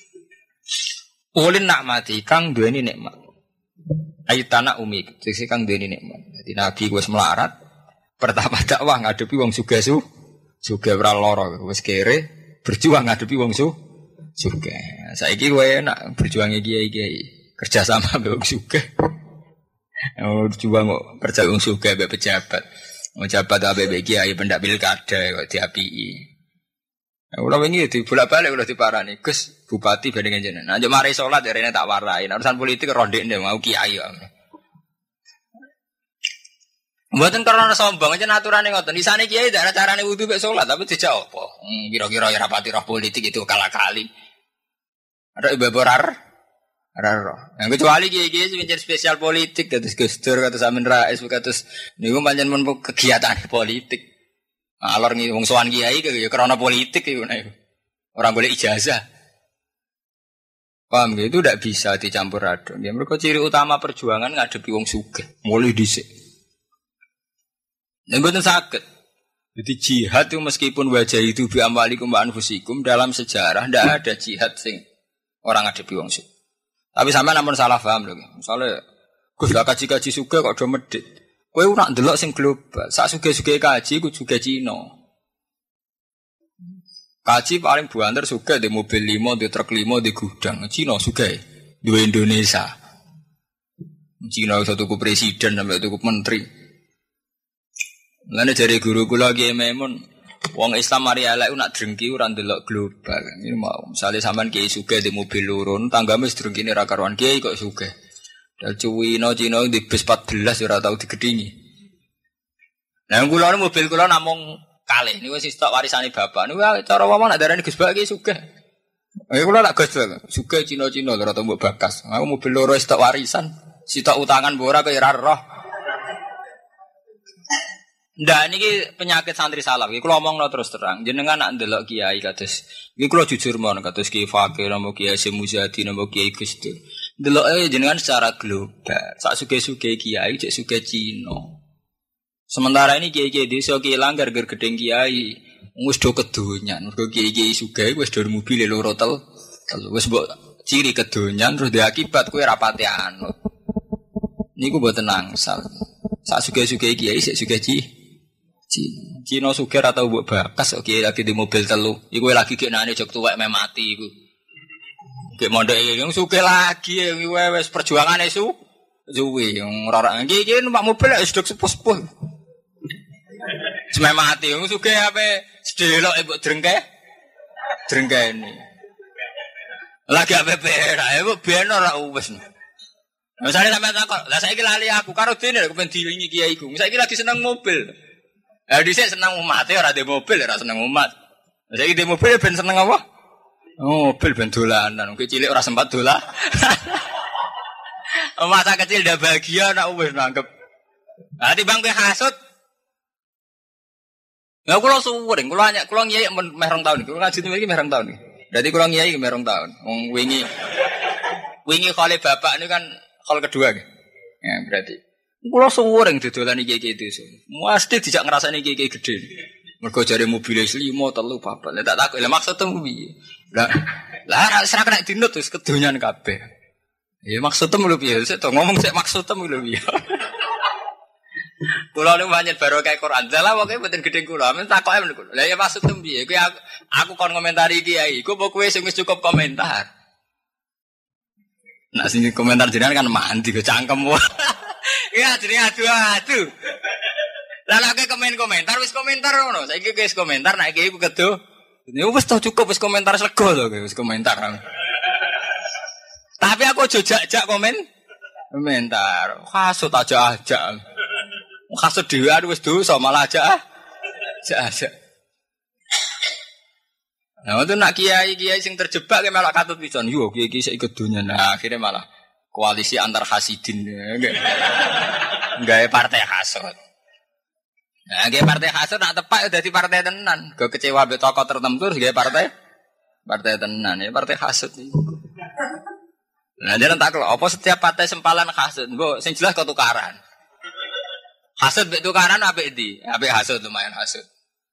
Ulin nikmati kang duweni nikmat. Aitana umi, sing kang duweni nikmat. Dadi nabi wis melarat, pertama dakwah ngadepi wong sugih ora lara, wis kere berjuang ngadepi wong sugih. Saiki kowe enak berjuang kiai-kiai. Kerja sama mbek wong sugih. Coba kok kerja wong sugih mbek pejabat. Wong pejabat mbek kiai pendak pilkada kok diapiki. Ora wingi dibolak-balik kula diparani, Gus bupati bandingan jenengan. Anjuk mari salat rene tak warai. Urusan politik rondekne mau kiai kok. Mboten karena sombong aja aturane ngoten. Isane kiai ndak ada carane wudu mek salat tapi dijak apa? Kira-kira ya rapati roh politik itu kala-kali. Ada ibu borar. Raro. Yang kecuali kiai-kiai sing spesial politik kados Gus Dur kados Amin Rais kados niku pancen men kegiatan politik. Alor ngi wong sowan kiai ya karena politik iku nek. Ora golek ijazah. Paham gitu ndak bisa dicampur aduk. Ya mergo ciri utama perjuangan ngadepi wong sugih, mulih dhisik. Nek mboten saged. Jadi jihad itu meskipun wajah itu bi amwalikum wa anfusikum dalam sejarah ndak ada jihad sing orang ngadepi wong sugih. Tapi sampean namun salah paham lho. Misale Gus lah kaji-kaji sugih kok do medhit. Kowe ora ndelok sing global. Sak sugih-sugih kaji ku juga Cina. Kaji paling banter sugih di mobil 5, di truk 5, di gudang. Cina sugih duwe Indonesia. Cina iso tuku presiden sampai tuku menteri. Lane jare guru kula Ki Maimun wong Islam mari elek nak drengki ora ndelok global. Ini mau misale sampean kiai sugih di mobil lurun, tanggane drengkine ra karuan kiai kok sugih. Dal Cina di bis 14 ora tau digedhingi. Nah kula mobil kula namung kalih niku wis tok warisane bapak. Niku cara wong nak darani Gus Bak iki sugih. Kula nak Gus Bak sugih Cina-Cina lho mbok bakas. Aku mobil loro wis tok warisan, sitok utangan mbok ora kaya ora roh. Ndak niki penyakit santri salaf iki kula omongno terus terang. Jenengan nak ndelok kiai kados iki kula jujur mon kados Ki Fakir napa Kiai Semuzadi napa Kiai Gusdur. Ndeloke jenengan secara global. Sak suge-suge kiai cek suge Cina. Sementara ini kiai-kiai desa kilang gara-gara gedeng kiai wis do kedonyan. Mergo kiai-kiai sugih wis do mobil loro tel. Wis mbok ciri kedonyan terus diakibat kowe ra pati anut. Niku mboten angsal. Sak suge-suge kiai sik suge Cina sugih ora tau mbok bakas kok kiai lagi di mobil telu. Iku lagi geknane jog tuwek meh mati iku. Gek mondok iki sugih lagi wis perjuangane suwi ora iki numpak mobil wis dok sepuh-sepuh. Cuma mati sugih ape sedelok mbok drengkene. Lagi ape perak mbok ben ora wis. Misale sampe takok, lah saiki lali aku karo dene kok ben dilingi kiai iku. Saiki lagi seneng mobil. Dhisik seneng umat ora ndek mobil ora seneng umat. Saiki ndek mobil ben seneng apa? Mobil ben dolanan. Ki cilik ora sempat dolan. Masa kecil ndak bahagia nak wis nanggep. Lah timbang kowe hasud. Lah kula suwering, kula ngiyai meh rong taun iki. Kula ngaji iki meh rong taun iki. Berarti kula ngiyai meh rong taun. Wong wingi khole bapak niku kan khol kedua nggih. Ya berarti kula suwering dodolan iki desa. Mesti dijak ngrasani iki gedhe. Mergo jare mobil 5, 3, 4. Lah tak takok, lha maksudmu piye? Lah ora kena dinut wis kedonyan kabeh. Ya maksudmu lho piye? Sik to ngomong sik maksudmu lho piye. Kula niku pancen barokah Quran. Lah pokoke mboten gedhe kula, men takoke niku. Lah ya maksudmu piye? Kuwi aku kon komentari kiai, iku apa kowe sing wis cukup komentar? Nah sing komentar jenengan kan mandi kok cangkem. Ya jenenge adu-adu. Lah lek komentar wis komentar ngono. Saiki wis komentar nek iki ku kedo. Ya wis to cukup wis komentar sego to wis komentar. Tapi aku aja jak komentar. Hasud aja. Hasud dhewe wis dosa malah aja. Nah, itu nak kiai sing terjebak ke malah katut pisan. Yo kiai sik kedonya. Nah, akhirnya malah koalisi antar hasidin. Gawe partai hasud. Nah, gawe partai hasud nak tepak dadi partai tenan. Go kecewa mbek tokoh tertentu terus gawe partai tenan ya partai hasud niku. Nah, jangan tak kok apa setiap partai sempalan hasud. Mbok sing jelas kok tukaran. Hasud mbek tukaran apik ndi? Apik hasud lumayan hasud.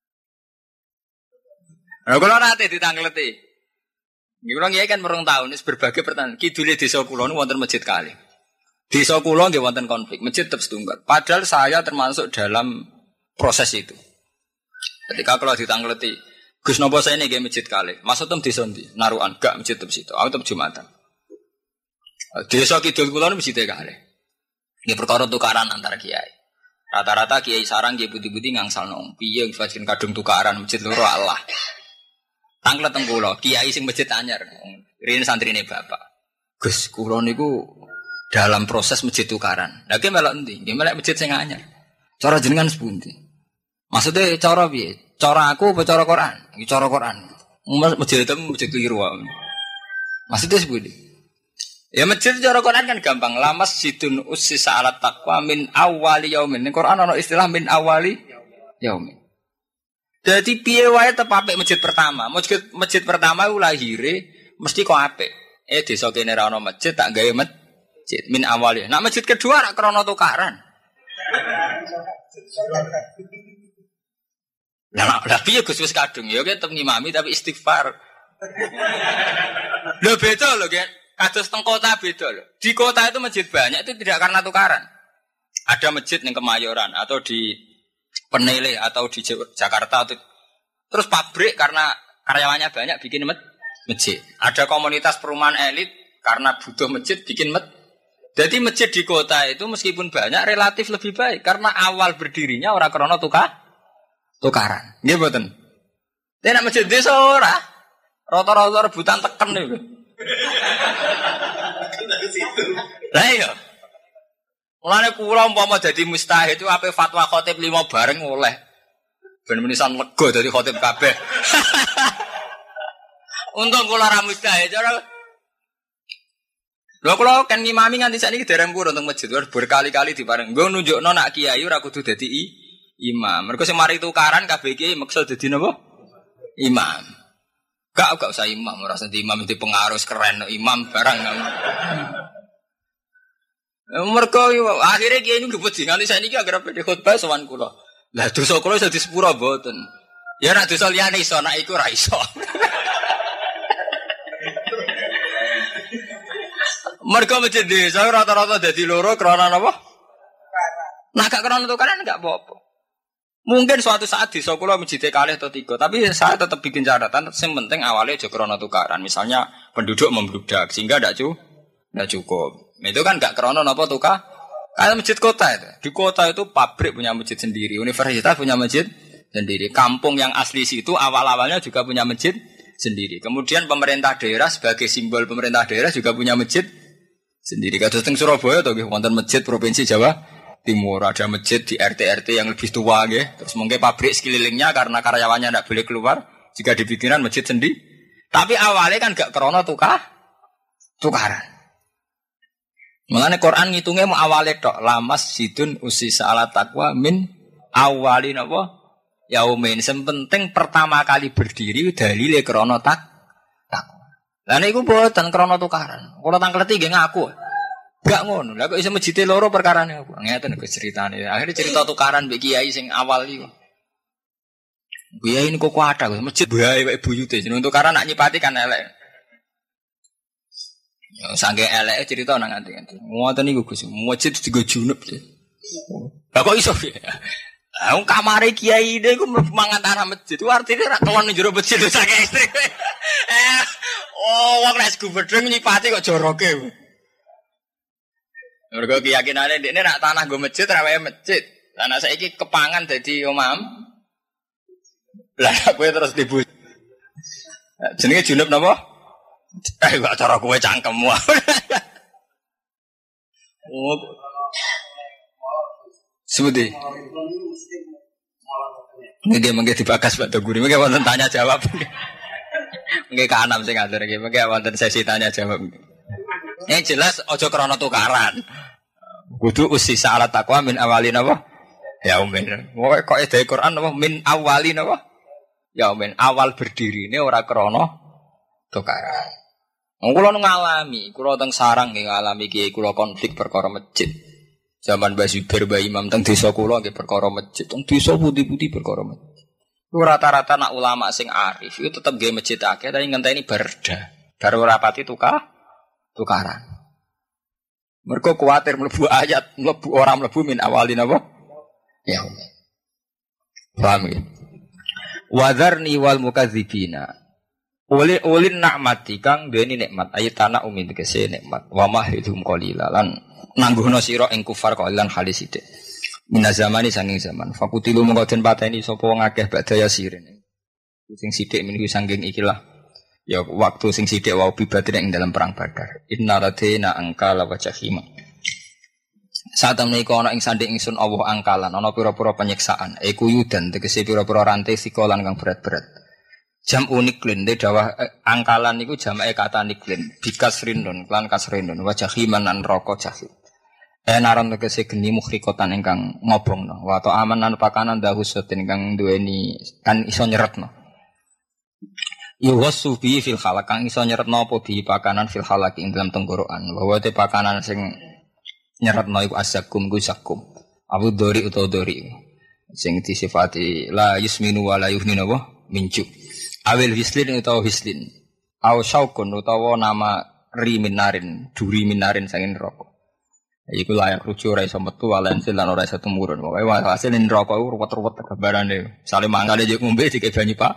Nah, kalau nanti ditangkleti, ini kalau ngiyai kan merong tahun, ini berbagai pertanyaan. Kidulnya desa kulon wonten masjid kali. Desa kulon dia wonten konflik, masjid tetap setunggal. Padahal saya termasuk dalam proses itu. Ketika kalau ditangkleti, Gus nopo saya ini kayak masjid kali. Maksudnya desa ndi, naruhan, gak masjid tetap situ. Aku tetap jumatan. Desa kidul kulon masjid kali. Ini perkara tukaran antara kiai. Rata-rata kiai sarang kiai putih-putih ngangsal nong. Piye yang kadung tukaran masjid loro Allah. Tanglet teng kula, kiai sing masjid anyar. Rene santrine bapak. Gus, kula niku dalam proses masjid tukaran. Lah ki melok endi? Nggih melok masjid sing anyar. Cara jenengan sepundi? Maksudnya cara piye? Cara aku apa cara Quran? Iki cara Quran. Masjid itu masjid keliru. Maksudnya sepundi? Ya masjid cara Quran kan gampang. La masjidun ussisa 'alat taqwa min awwali yaumin. Ning Quran ana istilah min awwali yaumin. Jadi piye wae tetep apik masjid pertama. Masjid pertama ku lahire mesti kok apik. Desa kene ra ono masjid tak gawe masjid min awali. Nah masjid kedua ra krana tukaran. Lah piye Gus wis kadung ya tetep ngimami tapi istighfar. Lho beda lho kan. Kados teng kota beda lho. Di kota itu masjid banyak itu tidak karena tukaran. Ada masjid yang Kemayoran atau di Penele atau di Jakarta atau terus pabrik karena karyawannya banyak bikin masjid. Ada komunitas perumahan elit karena butuh masjid bikin masjid. Jadi masjid di kota itu meskipun banyak relatif lebih baik karena awal berdirinya orang krono tukaran. Nggih mboten. Nek masjid desa ora rata-rata rebutan teken niku. Lah iya. Mulane kula umpama dadi mustahid itu ape fatwa khatib 5 bareng oleh. Ben menisan lega dadi khotib kabeh. Untung kula ra mustahil cara. Lho kula kan ngimami nganti sakniki dereng purun teng masjid berkali-kali dipareng. Nggo nunjukno nak kiai ora kudu dadi imam. Mergo sing mari tukaran kabeh kiai maksud dadi napa? Imam. Gak usah imam, ora usah imam itu pengaruh keren imam barang. Mergo akhirnya kiai niku ngebut nganti sakniki agar badhe khotbah sowan kula. Lah dosa kula iso disepuro mboten. Ya nek dosa liyane iso, nek iku ora iso. Mergo masjid desa rata-rata dadi loro krana napa? Nah gak krana tukaran enggak apa-apa. Mungkin suatu saat desa kula masjid kalih atau 3, tapi saya tetap bikin catatan yang penting awalnya aja krana tukaran. Misalnya penduduk membludak sehingga enggak cukup. Itu kan enggak krana napa tukar. Kayak masjid kota itu. Di kota itu pabrik punya masjid sendiri, universitas punya masjid sendiri. Kampung yang asli situ awal-awalnya juga punya masjid sendiri. Kemudian pemerintah daerah sebagai simbol pemerintah daerah juga punya masjid sendiri. Kados teng Surabaya to nggih wonten masjid provinsi Jawa Timur, ada masjid di RT-RT yang lebih tua nggih. Terus mungkin pabrik sekelilingnya karena karyawannya tidak boleh keluar jika dibikinan masjid sendiri. Tapi awalnya kan gak krana tukaran. Mengenai Quran ngitungnya mau awalnya tok lamas sidun usisa ala taqwa min awalin apa yaumin. Yang penting pertama kali berdiri dalile krana takwa. Lah niku mboten krana tukaran. Kula tangkleti nggih ngaku. Gak ngono. Lah kok iso masjid loro perkarane apa? Ngeten kok ceritane. Akhirnya cerita tukaran mbek kiai sing awal iku. Kiai niku kuwata kok masjid bae wae buyute jeneng tukaran nak nyipati kan elek. Ya sange eleke cerita nang nganti-nganti. Ngoten niku Gus, masjid digo junub. Lah kok iso ya? Lah wong kamare kiai niku mangan tanah masjid. Itu artine ra kelon ning jero masjid sange ekstrim. Wong nek gubedeng nyipati kok joroke. Mergo keyakinane ndekne nek tanah nggo masjid ra wae masjid. Lah nek saiki kepangan dadi omam. Lah kowe terus dibu. Jenenge junub napa? Gak cara kowe cangkemmu. Oh. Sebuti. Nggih mengke dibagas Pak Doguri. Mengke wonten tanya jawab. Nggih kanam sing ngatur nggih. Mengke wonten sesi tanya jawab. Yang jelas aja krana tukaran. Kudu usisa ala taqwa min awalin apa? Ya umin. Kok edhe Quran apa min awalin apa? Ya umin. Awal berdirine ora krana tukaran. Kula ngalami, kula teng sarang nggih ngalami kiai kula konflik perkara masjid. Zaman Mbah Zubair Mbah Imam teng desa kula nggih perkara masjid, teng desa putih-putih perkara masjid. Rata-rata nak ulama sing arif itu tetep nggih masjid akeh tapi ngenteni berda. Bar ora pati tukaran. Mergo kuwatir mlebu ayat, ora mlebu min awalin apa? Ya. Paham ya? Wadharni wal mukadzibina. Ulin nikmati kang duweni nikmat ayatana umin tegese nikmat wa mahidhum qalila lan nangguhna sira ing kufar qalilan halis sithik minaz zamani sanging zaman fakutilu mengko den pateni sapa wong akeh badaya sirin sing sithik meniku sanging ikilah ya waktu sing sithik wau bibatin ing dalam perang Badar inna radina angkala wa jahima saat menika ana ing sanding ingsun Allah angkalan ana pira-pira penyiksaan kuyudan tegese pira-pira rantai sikolan kang berat-berat jam unik lin de dawah angkalan niku jamake kata niklin bikas rindun lan kasrindun wa jahiman an roko jahim naron tegese geni mukhrikotan ingkang ngobongno wa ta amanan pakanan dahusatin ingkang duweni kan iso nyeretno yuwasu bi fil khalaq kang iso nyeretno apa bi pakanan fil khalaq ing dalam tenggorokan bahwa te pakanan sing nyeretno iku asakum gusakum abu dori utawa dori sing disifati la yusminu wa la yuhninu wa minjuk awil hislin utawa hislin aw syaukun utawa nama riminarin duri minarin sangin neraka iku layak rujuk ora iso metu walensil lan ora iso tumurun pokoke hasil neraka iku ruwet-ruwet gambarane sale mangane yo ngombe dike banyu Pak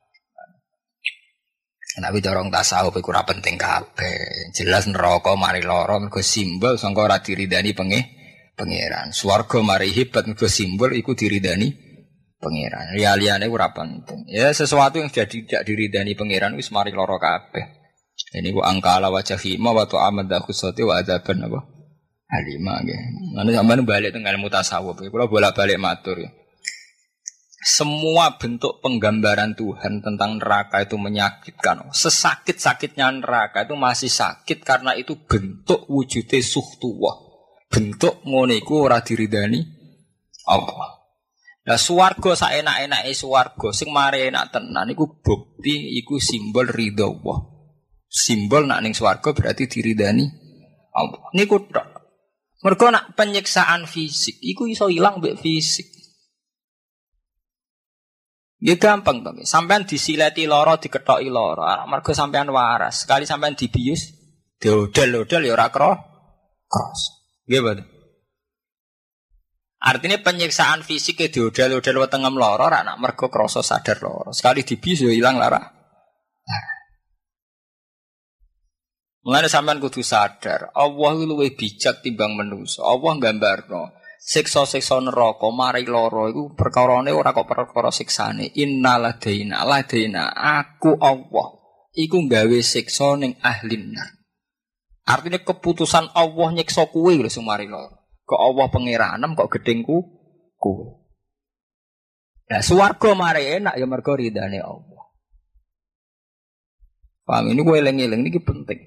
tapi dorong tasawuf iku ora penting kabeh jelas neraka mari lara mergo simbol sangka ora diridani pangeran swarga mari hebat mergo simbol iku diridani pangeran, liane ora penting. Ya sesuatu yang jadi tidak diridani pangeran wis mari lara kabeh. Ini ku angkala wajahi ma wa ta'amad khusati wa adzaban apa? Halima nggih. Lan sampeyan bali teng ilmu tasawuf. Kula bolak-balik matur ya. semua bentuk penggambaran Tuhan tentang neraka itu menyakitkan. Sesakit-sakitnya neraka itu masih sakit karena itu bentuk wujudnya suhtuwah. Bentuk ngono iku ora diridani Allah. Lah swarga saenak-enake swarga sing mari enak tenan iku bukti iku simbol ridha Allah. Simbol nak ning swarga berarti diridani Allah. Niku tok. Mergo nak penyiksaan fisik iku iso ilang mbek fisik. Ya gampang to, sampean disileti lara dikethoki lara, mergo sampean waras. Sekali sampean dibius, diodel-odel ya ora cross. Nggih, Pak. Artinya penyiksaan fisik e diodel-odel wetengem lara ora nak mergo krasa sadar lara. Sekali dibius ya ilang lara. Mulane sampean kudu sadar, Allah luwih bijak timbang manusa. Allah nggambarno siksa-siksa neraka mari lara iku perkarane ora kok perkara siksane. Innaladaina aku Allah iku gawe siksa ning ahli nar. Artinya keputusan Allah nyiksa kuwe lho sing mari lara. Kok Allah pangeranem kok gedengku kuwe. Nah swarga mari enak ya mergo ridane Allah. Paham ini kowe eling-eling niki penting.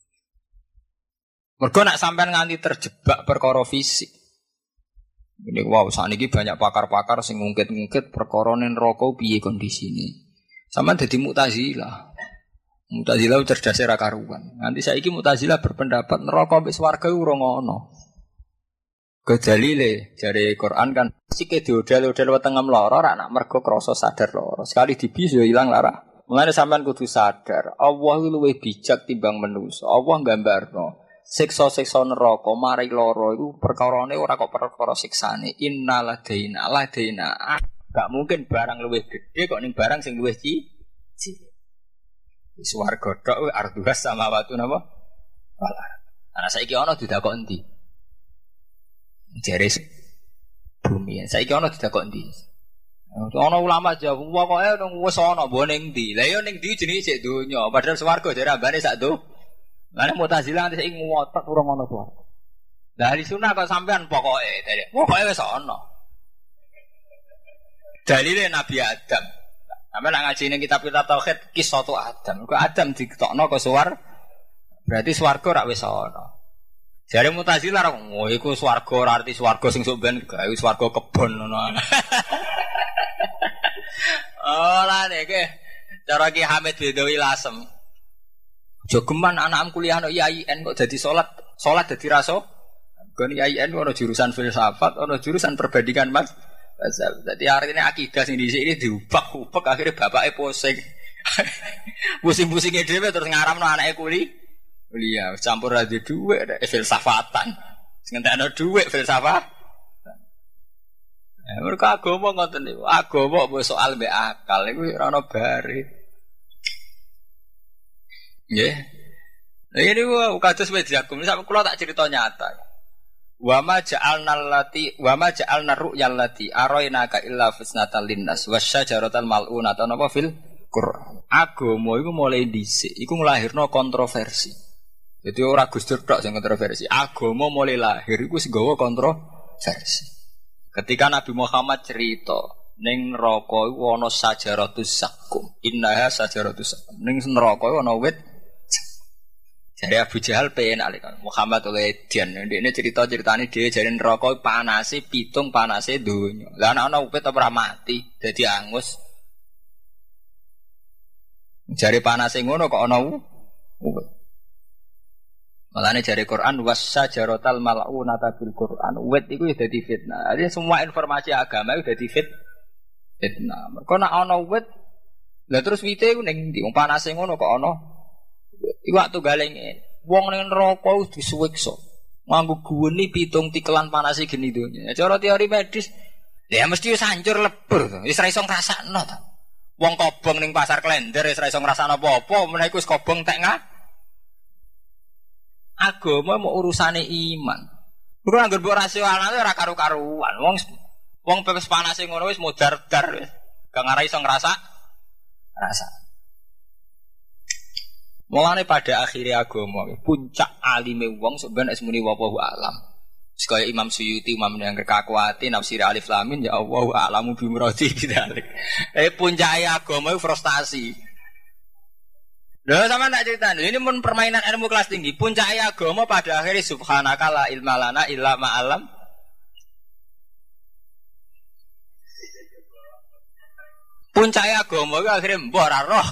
Mergo nak sampean nganti terjebak perkara fisik. Ini wow, saniki banyak pakar-pakar sing ngungkit-ngungkit perkara ning neraka piye kondisine. Sampeyan dadi Mu'tazilah. Mu'tazilah cerdas ra karuan. Nanti saiki Mu'tazilah berpendapat neraka mbek swarga ora ngono. Kedalile jare Quran kan sike diodel-odel wetengem lara ra nak mergo krasa sadar lara. Sekali dibius yo ilang lara. Mulane sampean kudu sadar, Allah luwih bijak timbang manusa. Allah nggambarno siksa-siksa neraka mari lara iku perkarane ora kok perkara siksane. Innaladaina gak mungkin barang luwih gede kok ning barang sing luwih cilik. Swarga tok arduhas samawati napa? Wala. Ana saiki ana didakok endi? Jare bumi. Saiki ana didakok endi? Ana ulama jawab pokoke wis ana mbok ning ndi. Lah ya ning ndi jenenge sik donya. Padahal swarga jare ambane sak do. Lah Mu'tazilah nanti saiki ngotot ora ngono swarga. Lah ahli sunah kok sampean pokoke wis ana. Dalile Nabi Adam. Sampe nak ngaji ning kitab-kitab tauhid kisah tu Adam. Kok Adam ditokno ke swarga. Berarti swarga ora wis ana. Jare Mu'tazilah ora iku swarga ora arti swarga sing sok ben gawe swarga kebon ngono. Oh lah nek cara Ki Hamid Bedawi Lasem. Jogeman anak kuliah no IAIN kok dadi salat dadi raso. Kon IAIN ono jurusan filsafat, ono jurusan perbandingan Mas. Jadi hari ini akidah sing dhisik ini diubak-ubak akhirnya bapaknya pusing. Pusing-pusingnya dhewe terus ngaramno anake kuliah campur radio dhuwit filsafatan. Sing entekno dhuwit filsafat. Mergo agama ngoten niku. Agama mbok soal mbek akal iku ora ono bare. Nggih. Lah ini kados wis diakum sampe kula tak cerita nyata. Wa ma ja'alna ru'yal lati arainaka illa fitnatal linnas wasyajaratal mal'unata napa fil Qur'an. Agama iku mulai dhisik iku nglahirno kontroversi. Jadi ora Gus Dur tok sing kontroversi. Agama mulai lahir iku sing gawa kontroversi. Ketika Nabi Muhammad cerita ning neraka iku ana sajaratus zakum. Innaha sajaratus zakum. Ning neraka iku ana wit. Jare Abu Jahal pengen alikan Muhammad oleh Dian. Ndekne cerita-ceritane dhewe jare neraka panase pitung panase donya. Lah ana wit ora mati dadi angus. Jare panase ngono kok ana wit. Malane jare Quran wasyajaratal mal'unata bil Quran. Wit iku ya dadi fitnah. Jadi semua informasi agama itu dadi fitnah. Mergo nek ana wit, lah terus wite iku ning ndi? Wong panase ngono kok ana. Iku waktu galenge wong ning neraka wis disuwiksa. Nganggo guweni pitung tikelan panase geni donya. Cara teori medis, ya mesti wis hancur lebur to. Wis ra iso ngrasakno to. Wong kobong ning pasar Klender wis ra iso ngrasakno apa-apa, menawa wis kobong tek agama mau urusane iman. Kuwi anggere mbok rasional ora karo-karuan. Wong pepes panase ngono wis modar-dar wis. Gak ngarai iso ngrasa. Mulane pada akhirnya agama puncak alime wong sebenarnya muni wallahu alam. Sekaya Imam Suyuti, Imam yang kekakuati, nafsir alif lamin, ya Allah, alamu bimurati bidalik. Puncai agama itu frustasi. Loh sama tak cerita, ini pun permainan ilmu kelas tinggi. Puncai agama pada akhirnya subhanaka la ilma lana illa ma'alam. Puncai agama itu akhirnya mbok roh.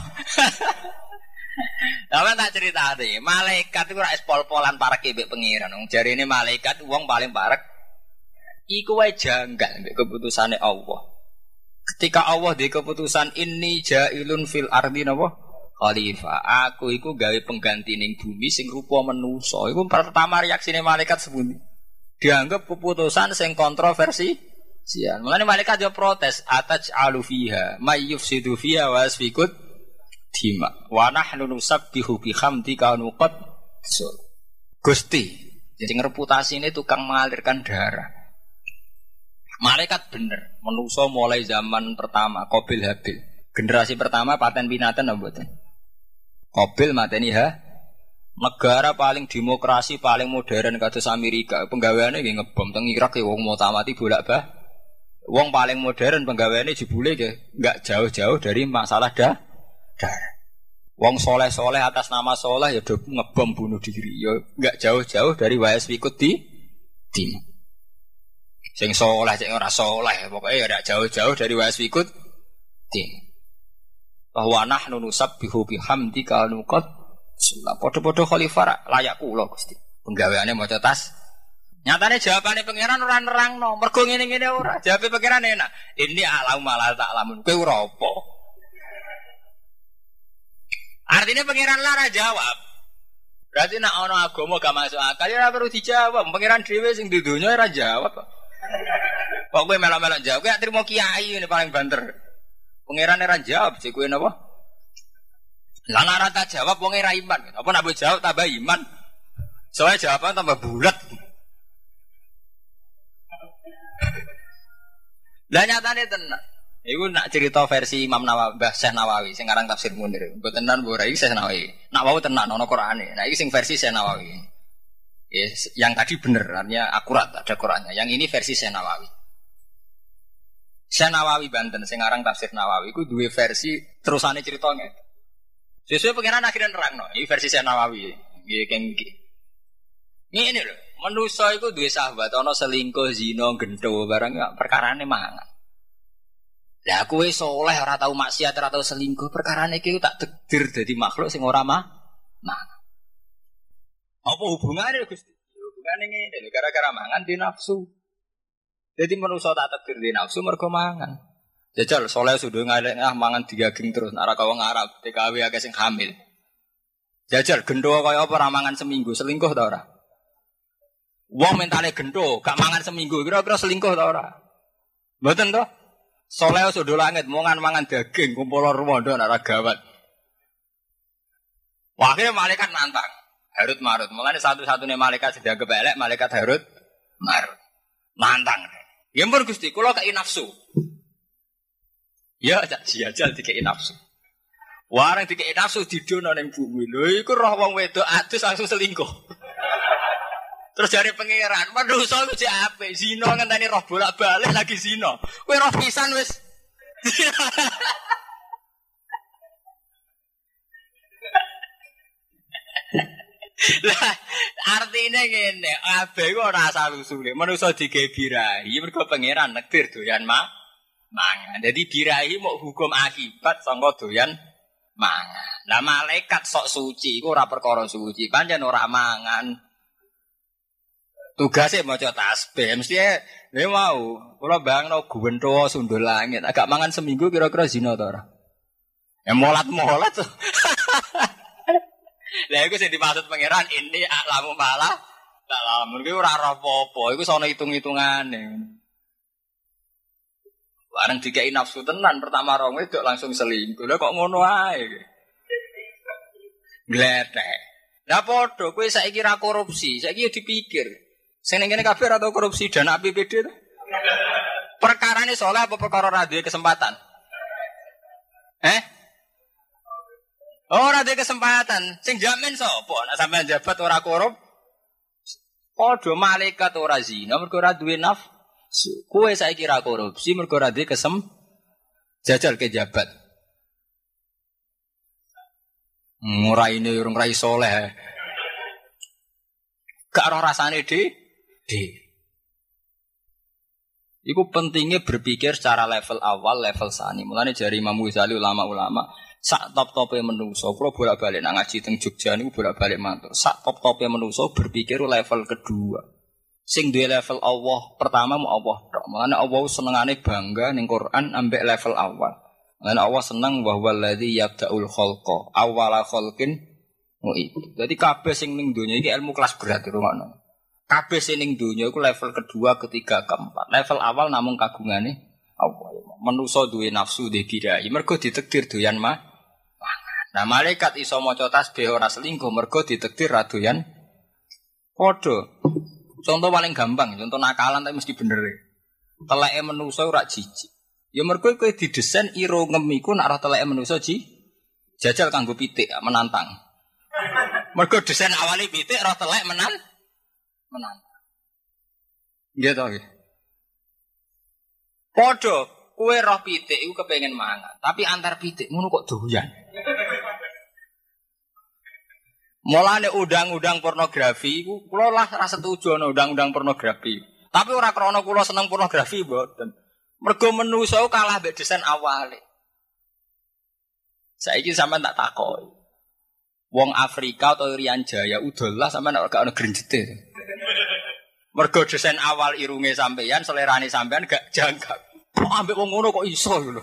Sama tak cerita nih, malaikat itu rak pol-polan parek mbek pengiran. Jari ini malaikat uang paling parek. Iku wae janggal mbek keputusane Allah. Ketika Allah di keputusan ini jailun fil ardi napa? Khalifah. Aku iku gawe pengganti ning bumi sing rupa manusa. Iku pertama reaksine malaikat sepundi. Dianggap keputusan sing kontroversi. Sian. Mulane malaikat yo protes, ataj'alu fiha may yufsidu fiha wa yasfikut dima wa nahnu nusabbihu bihamdika nuqad Gusti. Jadi reputasi ini tukang mengalirkan darah. Malaikat bener, manusa mulai zaman pertama Qabil Habil. Generasi pertama paten binatan apa mboten? Qabil mateni negara paling demokrasi paling modern kados Amerika. Penggaweane nggih ngebom teng Irak wong mau tamati bolak-balik. Wong paling modern penggaweane jebule enggak jauh-jauh dari masalah darah. Wong soleh-soleh atas nama soleh ya do ngebom bunuh diri. Ya enggak jauh-jauh dari wayas wikut di tim. Sing soleh sing ora soleh pokoke ya enggak jauh-jauh dari wayas wikut tim. Bahwa nahnu nusabbihu bihamdika nuqad sulah padha-padha khalifah layak kula Gusti. Penggaweane maca tas. Nyatane jawabane pangeran ora nerangno. Mergo ngene-ngene ora. Jawabe pangeran enak. Ini alam malah tak lamun. Kowe ora apa? Artinya pangeran lara jawab. Berarti nak ono agama gak masuk akal ya ora perlu dijawab. Pangeran dhewe sing di dunya ora jawab. Kok kowe melok-melok jawab, kowe trimo kiai ini paling banter. Pangeran ora jawab, sik kowe napa? Lah ora tak jawab wong ora iman. Apa nak mbok jawab tambah iman? Soale jawaban tambah bulat. Lah nyatane tenan. Iku nak cerita versi Imam Nawawi, Mbah Syekh Nawawi sing aran Tafsir Munir. Mbok tenan ora iki Syekh Nawawi. Nak wau tenan ana Qur'ane. Nah iki sing versi Syekh Nawawi. Yes, yang tadi bener artinya akurat ada Qur'annya. Yang ini versi Syekh Nawawi. Syekh Nawawi Banten sing aran Tafsir Nawawi iku duwe versi terusane ceritanya. Sesuai pengenan akhirnya nerangno. Iki versi Syekh Nawawi. Nggih keng iki. Ngene lho, manusa iku duwe sahabat ana selingkuh, zina, gentho barang perkarane mangan. Lah kowe saleh ora tau maksiat, ora tau selingkuh, perkarane iki tak takdir dadi makhluk sing ora mangan. Apa hubungane Gusti? Hubungane ngene lho, gara-gara mangan di nafsu. Jadi manusa tak takdir di nafsu mergo mangan. Jajal saleh sudah ngalek mangan digaging terus nek ora kawang Arab, TKW akeh sing hamil. Jajal gentho kaya apa ora mangan seminggu, selingkuh ta ora? Wong mentale gentho, gak mangan seminggu, kira-kira selingkuh ta ora? Mboten to? Saleh sudah langit, mangan daging, kumpul rumondo nek ora gawat. Wah, akhirnya malaikat nantang. Harut marut. Mulane satu-satunya malaikat sing dianggap elek, malaikat Harut marut. Nantang. Ya ampun Gusti, kula kei nafsu. Ya cak jajal dikei nafsu. Warang dikei nafsu didono ning bumi. Lho iku roh wong wedok adus langsung selingkuh. Terus jare pangeran, manusa iku jek apik, zina ngenteni roh bolak-balik lagi zina. Kowe roh pisan wis. Lah artine ngene, kabeh iku ora asal-usule. Manusa digawe birahi mergo pangeran nektir doyan mangan. Dadi birahi mok hukum akibat sangka doyan mangan. Lah malaikat sok suci iku ora perkara suci, pancen ora mangan. Tugasnya maca tasbih, mesti mau. Kula bangno guwentho sundul langit, agak mangan seminggu kira-kira zina ta ora? Ya molat-molat. Lah iku sing dimaksud pangeran ini aklamu malah tak lamun kuwi ora apa-apa, iku sono hitung-hitungane. Bareng dikei nafsu tenan pertama rong wedok langsung selingkuh. Lah kok ngono ae. Gletek. Lah padha kowe saiki ra korupsi, saiki yo dipikir. Sing ning kene kabeh ora tau korupsi dana APBD to. Perkarane saleh apa perkara ra duwe kesempatan? Ora duwe kesempatan. Sing jamin sapa? Nek sampean jabat ora korup. Padha malaikat ora zina mergo ora duwe nafsu. Kowe saiki ra korupsi mergo ora duwe jajal ke jabat. Nguraine urung rai soleh. Gak ora rasane de. Iku pentingnya berpikir secara level awal, level sani. Mulane jari Imam Ghazali ulama-ulama sak top-tope menungso, kula bolak-balik nang ngaji teng Jogja niku bolak-balik matur. Sak top-tope menungso berpikir level kedua. Sing duwe level Allah pertama mu Allah tok. Mulane Allah senengane bangga ning Quran ambek level awal. Mulane Allah seneng wa huwallazi yabda'ul khalqa awwala khalqin mu'id. Dadi kabeh sing ning donya iki ilmu kelas berat rumakno. Kabeh sing ning donya iku level kedua, ketiga, keempat. Level awal namung kagungane Allah. Manusa duwe nafsu dhe birahi mergo ditakdir doyan mangan. Nah, malaikat iso maca tasbih ora selingkuh mergo ditakdir ra doyan padha. Contoh paling gampang, contoh nakalan tapi mesti bener. Teleke manusa ora jijik. Ya mergo kowe didesain irungem iku nek ora teleke manusa jajal kanggo pitik menantang. Mergo desain awali pitik ora telek menantang. Nggih to nggih. Padha kowe roh pitik iku kepengin mangan, tapi antar pitik ngono kok doyan. Mulane undang-undang pornografi iku kula lah ra setuju ana undang-undang pornografi. Tapi ora krana kula seneng pornografi mboten. Mergo menungso kalah mbek desain awale. Saiki sampean tak takoki. Wong Afrika atau Irian Jaya udolah sampean ora gak ono grenjete. Mergo desain awal irunge sampeyan, selerane sampeyan gak jangkak. Kok ambek wong ngono kok iso lho.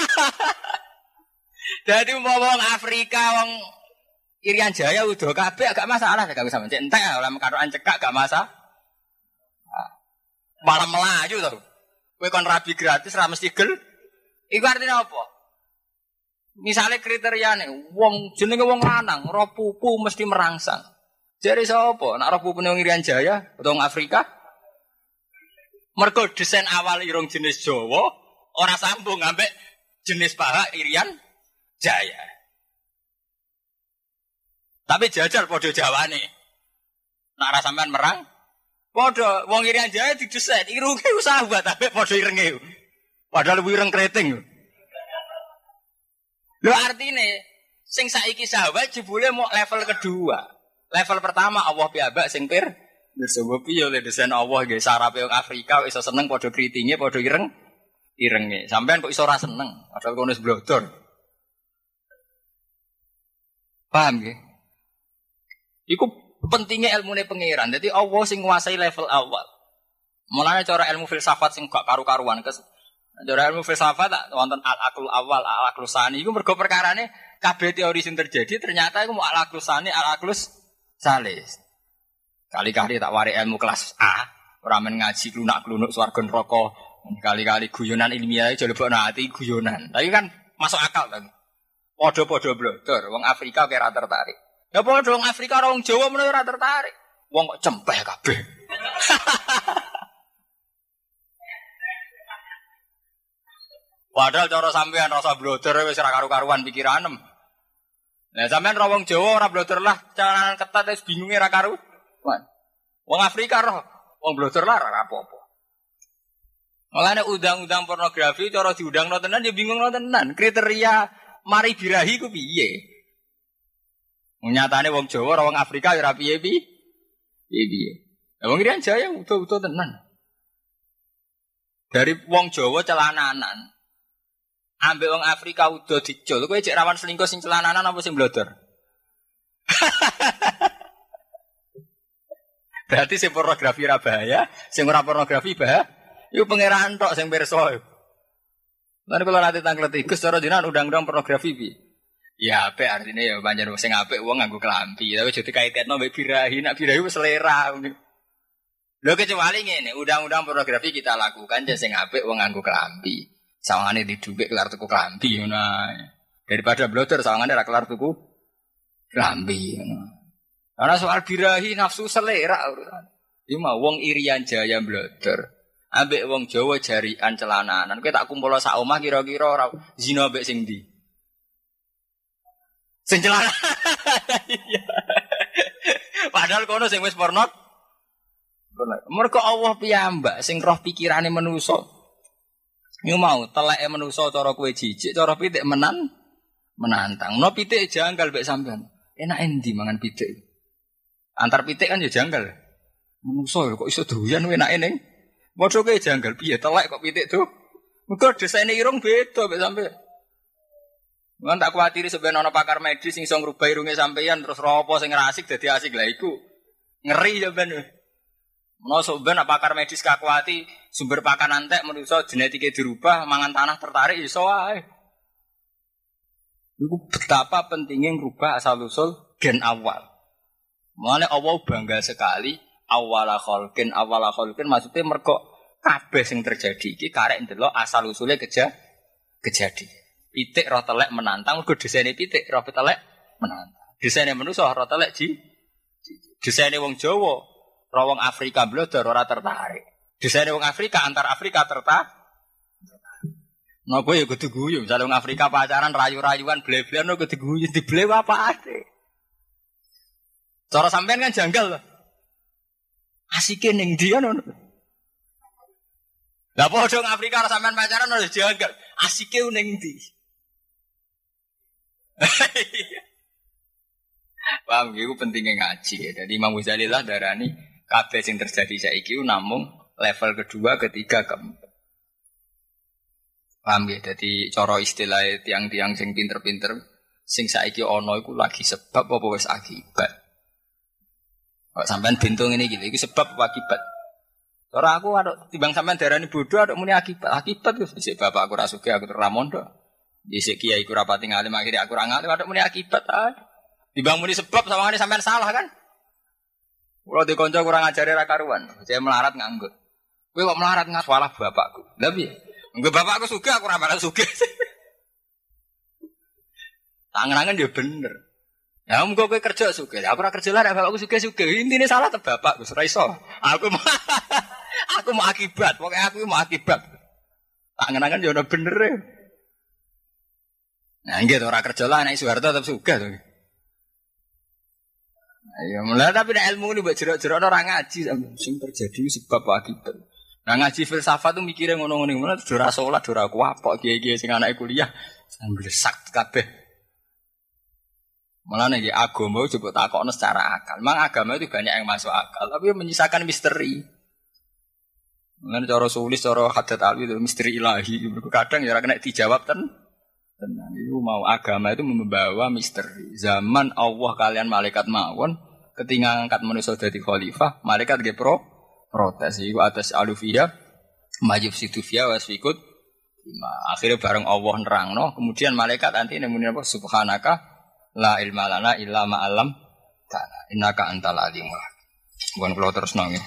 Dadi wong Afrika wong Irian Jaya udah kabeh agak masalah gak sampeyan. Cek entek ora karokan cekak gak masalah. Malah melaju to. Kowe kon rabi gratis ra mesti gel. Iku artinya apa? Misale kriteriane wong jenenge wong lanang, roh pupu mesti merangsang. Jare sapa? Nek roh pupune wong Irian Jaya utawa wong Afrika? Mergo desain awal irung jenis Jawa ora sambung ambek jenis paha Irian Jaya. Tapi jajal padha jawane. Nek ora sampean merang, padha wong Irian Jaya didesain irunge sahabat ambek padha irenge. Padahal ireng kreting. Lho artine sing saiki sahabat jebule mau level kedua. Level pertama Allah piyambak sing sebab piye oleh desain Allah nggih sarape wong Afrika iso seneng padha kritinge padha irenge. Sampean kok iso ora seneng padahal kono wis blodor. Paham nggih? Iku pentingnya ilmune pangeran. Dadi Allah sing nguasai level awal. Mulane cara ilmu filsafat sing gak karu-karuan cara ilmu filsafat tak wonten al-aqlul awal, al-aqlus sani iku mergo perkarane kabeh teori sing terjadi ternyata iku al-aqlus sani, al-aqlus salis. Kali-kali tak wari ilmu kelas A, ora men ngaji klunak-klunuk swarga neraka, kali-kali guyonan ilmiah aja lebokno ati guyonan. Tapi kan masuk akal kan. Padha-padha blodor, wong Afrika kira tertarik. Ya padha wong Afrika karo wong Jawa menawa ora tertarik. Wong kok cempeh kabeh. Padahal cara sampean rasa blodor wis ora karu-karuan pikiranem. Lah sampean ora wong Jawa ora blodor lah, caranan ketat wis bingunge ora karu. Wong Afrika roh, wong blodor lah ora apa-apa. Mulane undang-undang pornografi cara diundangno tenan ya bingung tenan. Kriteria mari birahi ku piye? Nyatane wong Jawa ora wong Afrika ya ora piye-piye. Lah wong Irian Jaya utuh-utuh tenan. Dari wong Jawa celananan. Ambek wong Afrika udah dicul. Kowe cek rawan selingkuh sing celananan apa sing blodor? Berarti sing pornografi ora bahaya, sing ora pornografi bahaya. Iku pangeran tok sing pirsa. Lan kula nate tanglet Gus cara jenengan undang-undang pornografi piye? Ya apik artine ya pancen sing apik wong nganggo klambi, tapi jadi kaitetno mbek birahi, nek birahi wis selera. Lho kecuali ngene, undang-undang pornografi kita lakukan jan sing apik wong nganggo klambi. Sawangane didhuwek kelar tuku klambi ngono. Daripada blodor sawangane ra kelar tuku klambi ngono. Ana soal birahi nafsu selera urusan. Iki mah wong Irian Jaya blodor. Ambek wong Jawa jarian celananan. Kowe tak kumpul sak omah kira-kira ora zina ambek sing ndi? Sing celana. Padahal kono sing wis porno Mergo Allah piyambak sing roh pikirane manusa. Iku mau teleke manusa cara kowe jijik, cara pitik menantang. No pitik janggal mek sampean. Enak endi mangan pitik? Antar pitik kan ya janggal. Manusa kok iso doyan enake ning. Padha kowe janggal piye telek kok pitik tuh? Mergo desaine irung beda mek sampean. Mun tak kuwatiri sampeyan ana pakar medis sing iso ngrubah irunge sampeyan terus ropo sing rasik dadi asik lha iku. Ngeri sampean. Menawa sampeyan pakar medis kakuati sumber pakan antek manusa genetike dirubah mangan tanah tertarik iso wae. Iku betapa pentingnya ngrubah asal usul gen awal. Mulane Allah bangga sekali awala khalqin maksudnya mergo kabeh sing terjadi iki karek ndelok asal usule kejadi. Pitik roh telek menantang mergo desene pitik roh telek menantang. Desene manusa roh telek desene wong Jawa roh wong Afrika blodor ora tertarik. Desane wong Afrika antar Afrika tertarik. Nah kowe ya kudu guyu, misale wong Afrika pacaran rayu-rayuan ble-blean kudu guyu dible apa ade. Cara sampean kan janggal lho. Asike ning ndi ngono. Lah padha wong Afrika ora sampean pacaran ora janggal. Asike ning ndi. Paham iku pentingnya ngaji ya. Jadi Imam Ghazali lah darani kabeh sing terjadi saiki namung level kedua, ketiga, keempat. Paham ya? Jadi cara istilah tiang-tiang sing pinter-pinter sing saiki ana iku lagi sebab apa wis akibat. Kok sampean bintung ini gitu, iku sebab apa akibat? Cara aku ada timbang sampean darani bodoh ada muni akibat. Akibat wis dhisik bapak aku ra sugih aku ora mondok. Dhisik kiai ku rapati ngalim akhire aku ora ngalim ada muni akibat ae. Timbang muni sebab sawangane sampean salah kan? Kalau di konco kurang ajari ra karuan, saya melarat nganggur. Kowe kok melarat ngasalah bapakku. Lha piye? Engko bapakku sugih aku ora malah sugih. Tangan-tangan dia bener. Ya muga kowe kerja sugih. Aku ora kerja lah bapakku sugih-sugih. Intine salah te bapak Gus ra iso. Aku mau akibat, pokoke aku mau akibat. Tangan-tangan dia udah bener. Nah, nggih ora kerja lah nek Soeharto tetep sugih to. Ya mulai tapi nek ilmu ini mbok jerok-jerok ora ngaji sing terjadi sebab akibat. Nah ngaji filsafat tuh mikirnya ngono-ngono ngono ora salat ora kuapok kiai-kiai sing anake kuliah sambil sak kabeh. Malah nek agama coba takokno secara akal. Memang agama itu banyak yang masuk akal tapi menyisakan misteri. Mengenai cara sulis cara hadat alwi itu misteri ilahi. Kadang ya ora kena dijawab tenang. Itu mau agama itu membawa misteri. Zaman Allah kalian malaikat mawon ketika angkat manusia jadi khalifah, malaikat ge protes iku atas alufiyah majib situfiyah wasfikut. Akhirnya bareng Allah nerangno, kemudian malaikat nanti nemuni apa subhanaka la ilma lana illa ma 'allam ta'ala innaka antal alim. Bukan kula terus nang.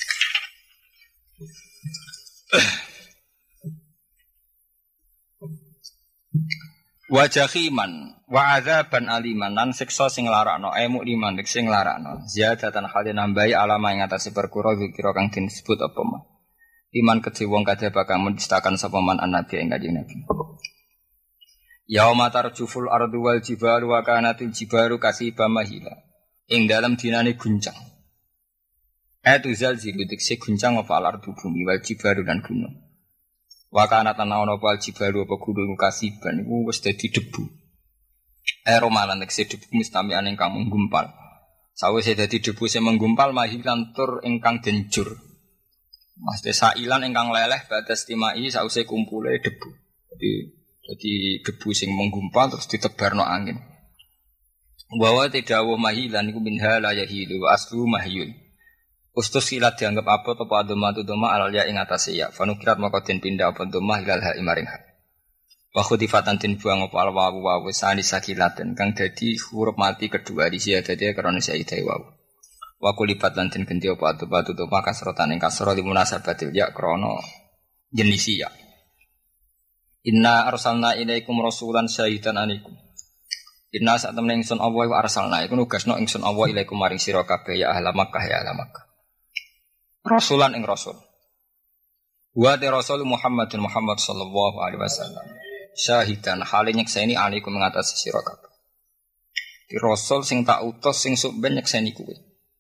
Wajahiman wa adzaban aliman lan siksa sing larakno mukliman sing larakno ziyadatan hale nambahi alama ing atase perkara zikira kang disebut apa mah iman kedhe wong kadhe bakal mendistakan sapa man annabi ing kanjeng Nabi yauma tarjuful ardu wal jibalu wa kanatil jibaru kasiba mahila ing dalam dinane guncang zalzilu dikse guncang apa al ardu bumi wal jibaru dan gunung wakana tanah ono pal jibalu apa gunung kasiban iku wis dadi debu. Romalan tekse debu mustami'an ingkang menggumpal. Sawise dadi debu sing menggumpal mahilan tur ingkang denjur. Maksudnya sailan ingkang leleh batas timai sawise kumpule debu. Jadi debu sing menggumpal terus ditebarno angin. Wa tidawuh mahilan iku minha la yahilu wa aslu mahyul. Ustus silat dianggap apa topo adoma tu doma alal ya ing atase ya. Fanukirat maka den pindah apa doma hilal ha imaring ha. Wa khudifatan tin buang apa al wawu wawu sani sakilaten kang dadi huruf mati kedua di sia dadi krana saidai wawu. Wa kulibat lan den ganti apa adoma tu doma kasrotan ing kasra li munasabatil ya krana jenisi ya. Inna arsalna ilaikum rasulan syahidan alaikum. Inna sak temene ingsun Allah wa arsalna iku nugasno ingsun Allah ilaikum maring sira kabeh ya ahla Makkah ya ahla Makkah. Rasulan ing rasul. Wa te rasul Muhammadun Muhammad sallallahu alaihi wasallam. Syahidan hale nyekseni alaikum ngatasi sira kabeh. Di rasul sing tak utus sing sok ben nyekseni kuwi.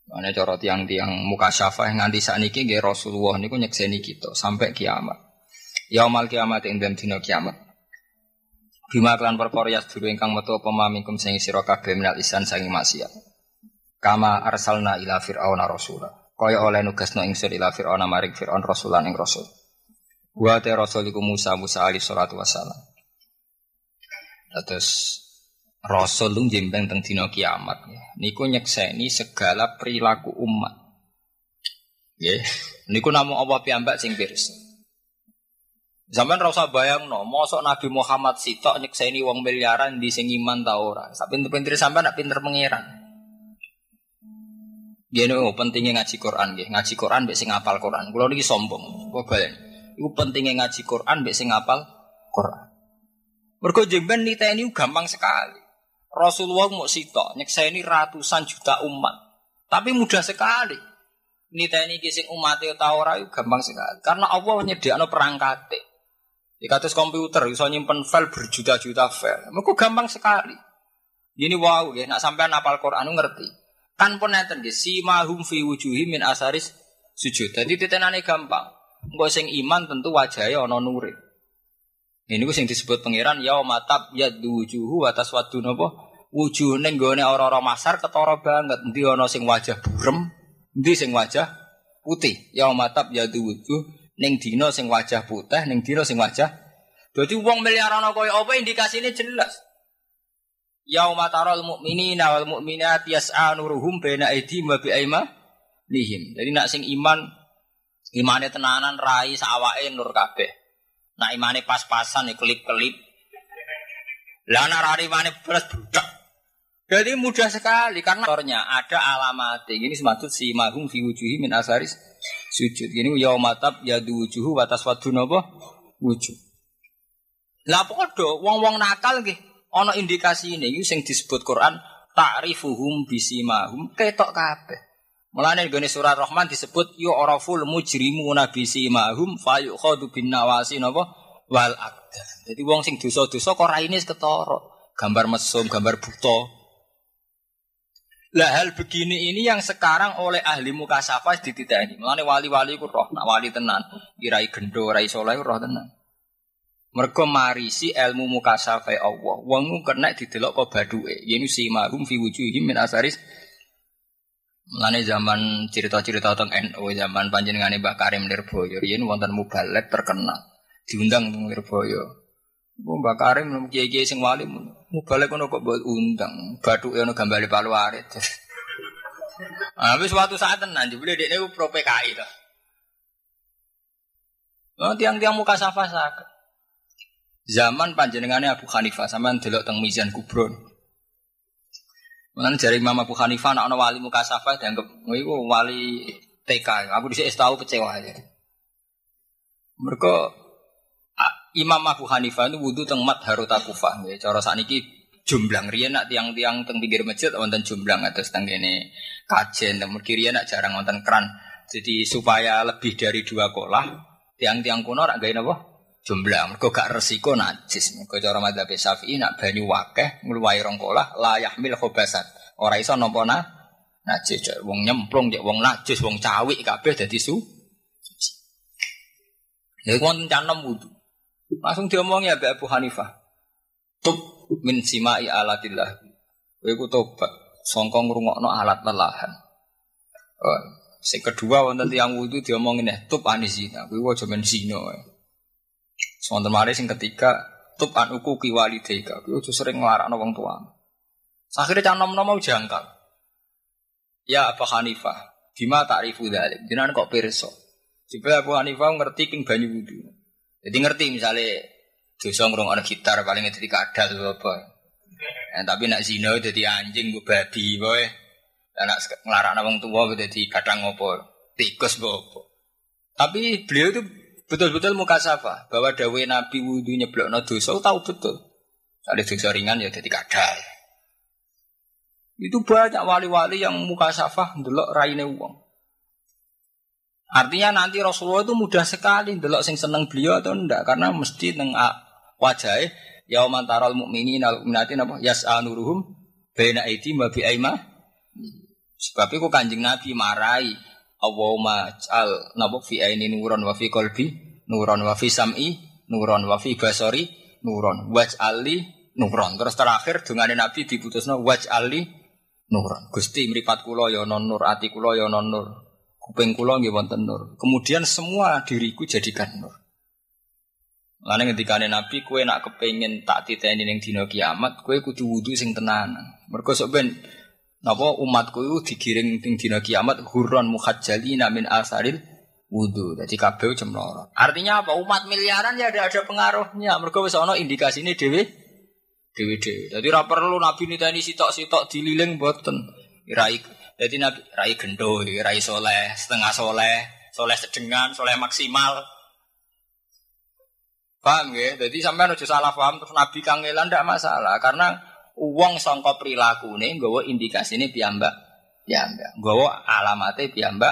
Ana cara tiang-tiang mukasyafah nganti sakniki nggih Rasulullah niku nyekseni kita sampai kiamat. Yaumul kiamat ing dina kiamat. Bima kelan perkara ya sedulur ingkang metu apa mamikum sing sira kabeh minal isan sangi maksiat. Kama arsalna ila fir'auna rasula. Kaya oleh nugasno ingsun ila fir'auna maring fir'aun rasulan ing rasul. Wa ta rasuliku Musa alaihi salatu wassalam. Terus rasul lu jembeng teng dina kiamat niku nyekseni segala perilaku umat. Nggih, niku namung apa piyambak sing pirsa. Zaman ra usah bayangno, mosok Nabi Muhammad sitok nyekseni wong miliaran di sing iman ta ora. Sak pinter-pintere sampean nak pinter pangeran. Yen pentingnya ngaji Quran nggih, ngaji Quran mbek sing hafal Quran. Kula niki sombong, kok balen. Iku pentingnya ngaji Quran mbek sing hafal Quran. Mergo jemben niteni gampang sekali. Rasulullah mau sitok nyekseni ratusan juta umat. Tapi mudah sekali. Niteni ki sing umate ta ora iku gampang sekali. Karena Allah nyediakno perangkate. Di kados komputer iso nyimpen file berjuta-juta file. Mergo gampang sekali. Ini wow nggih, nek sampean hafal Quran ngerti. Kan pun enten nggih, simahum fi wujuhim min asaris sujud. Dadi titenane gampang. Engko sing iman tentu wajahe ana nure. Ini ku sing disebut pangeran yaumatab yaddu wujuhu wa taswaddu napa? Wujuh ning gone ora-ora masar ketara banget. Endi ana sing wajah burem, endi sing wajah putih. Yaumatab yaddu wujuh ning dina sing wajah putih, ning dina sing wajah. Dadi wong miliaran kaya apa indikasine jelas. Yaumataral mu'minina wal mu'minati yas'a nuruhum baina aydihim wa bi'aymanihim. Jadi nak sing iman imane tenanan rai sawake nur kabeh. Nak imane pas-pasan ya kelip-kelip. Lah nak rai imane belas budak. Jadi mudah sekali karena ada alamat. Ini semaksud si mahum fi wujuhi min asaris sujud. Ini yaumatab yadu wujuhu wa taswaddu napa wujuh. Lah padha wong-wong nakal nggih ana indikasi ini sing disebut Quran ta'rifuhum bisimahum ketok kabeh. Mulane nggone surat Rahman disebut yu'raful mujrimuna bisimahum fayukhadu bin nawasi napa wal aqdam. Jadi wong sing dosa-dosa kok raine ketara, gambar mesum, gambar buta. Lah hal begini ini yang sekarang oleh ahli mukasafah dititeni. Mulane wali-wali ku roh, nak wali tenan, kirai gendo, rai saleh roh tenan. Mergo marisi ilmu mukasafah Allah. Wong kena didelok kok baduke. Yene simahum fi wujuhihim min asaris. Mulane zaman cerita-cerita tentang NU zaman panjenengane Mbah Karim Nirboyo, yen wonten mubalek terkenal. Diundang teng Nirboyo. Mbah Karim kiai-kiai sing wali mubalek ngono kok mbok undang. Bathuke ono gambare Palu Arit. Wis suatu saat tenan jebule dekne ku pro PKI to. Oh tiang-tiang mukasafah saged. Zaman panjenengane Abu Hanifah sampean delok teng Mizan Kubro. Mulane jare Imam Abu Hanifah nek ana wali mukasafah dianggap iku wali TK. Aku dhisik tau kecewa aja. Mergo Imam Abu Hanifah itu wudu teng Madharut Kufah nggih. Cara sakniki jumblang riyen nak tiang-tiang teng pinggir masjid wonten jumblang atus teng kene kajen teng mriki riyen nak jarang wonten kran. Jadi supaya lebih dari 2 kolah tiang-tiang kuno rak gawe napa? Jumblang. Mergo gak resiko najis. Mergo cara madzhab Syafi'i nak banyu akeh ngluwahi 2 kolah la yahmil khobasan. Ora iso nampa najis. Wong nyemplung cek wong najis, wong cawik kabeh dadi suci. Ya wonten canem wudu. Langsung diomongi ya Abu Hanifah. Tub min simai alatillah. Kowe ku tobat sangka ngrungokno alat lelahan. Sing kedua wonten tiyang wudu diomongin tub anisina. Kowe aja men zina. Wonten mari sing ketiga tub an uquqi walidayka. Kowe aja sering nglarakno wong tua. Akhire cah nom-nom mau jangkal. Ya Abu Hanifah, bima ta'rifu dzalik? Jenengan kok pirsa? Jebul Abu Hanifah ngerti king banyu wudu. Jadi ngerti misalnya dosa ngrungokno gitar paling dadi kadal apa. Tapi nek zina dadi anjing mbok babi wae. Nek nglarakno wong tuwa dadi kadang apa, tikus apa. Tapi beliau itu betul-betul mukasafah bahwa dawuh Nabi wudu nyeblokno dosa tahu betul. Ada dosa ringan ya dadi kadal. Itu banyak wali-wali yang mukasafah ndelok raine wong. Artinya nanti Rasulullah itu mudah sekali ndelok sing seneng beliau atau ndak karena mesti neng wajahe yauman taral mukminin al mu'minatin apa yas'a nuruhum baina aydihim wa bi'ayma. Sebab iku Kanjeng Nabi marai Allahumma ja'al napa fi aini nuron wa fi qalbi nuron wa fi sam'i nuron wa fi basari nuron waj'ali nuron. Terus terakhir dungane Nabi diputusno waj'ali nuron. Gusti mripat kula ya ana nur, ati kula ya ana nur, kuping kula nggih wonten nur. Kemudian semua diriku jadikan nur. Lan ngendikane Nabi, kowe nak kepengin tak titeni ning dina kiamat, kowe kudu wudu sing tenanan. Mergo sok ben napa umatku iku digiring ning dina kiamat hurran muhajjalina min asaril wudu. Dadi kabeh cemloro. Artinya apa? Umat miliaran ya ada pengaruhnya. Mergo wis ana indikasine dhewe. Dadi ora perlu Nabi niteni sitok-sitok dililing mboten. Rai dadi Nabi rai gendho, rai soleh, setengah soleh, soleh sedengan, soleh maksimal. Paham ya? Jadi sampean aja salah paham terus Nabi kangelan ndak masalah karena wong sangka prilakune nggawa indikasine piyambak. Nggawa alamate piyambak.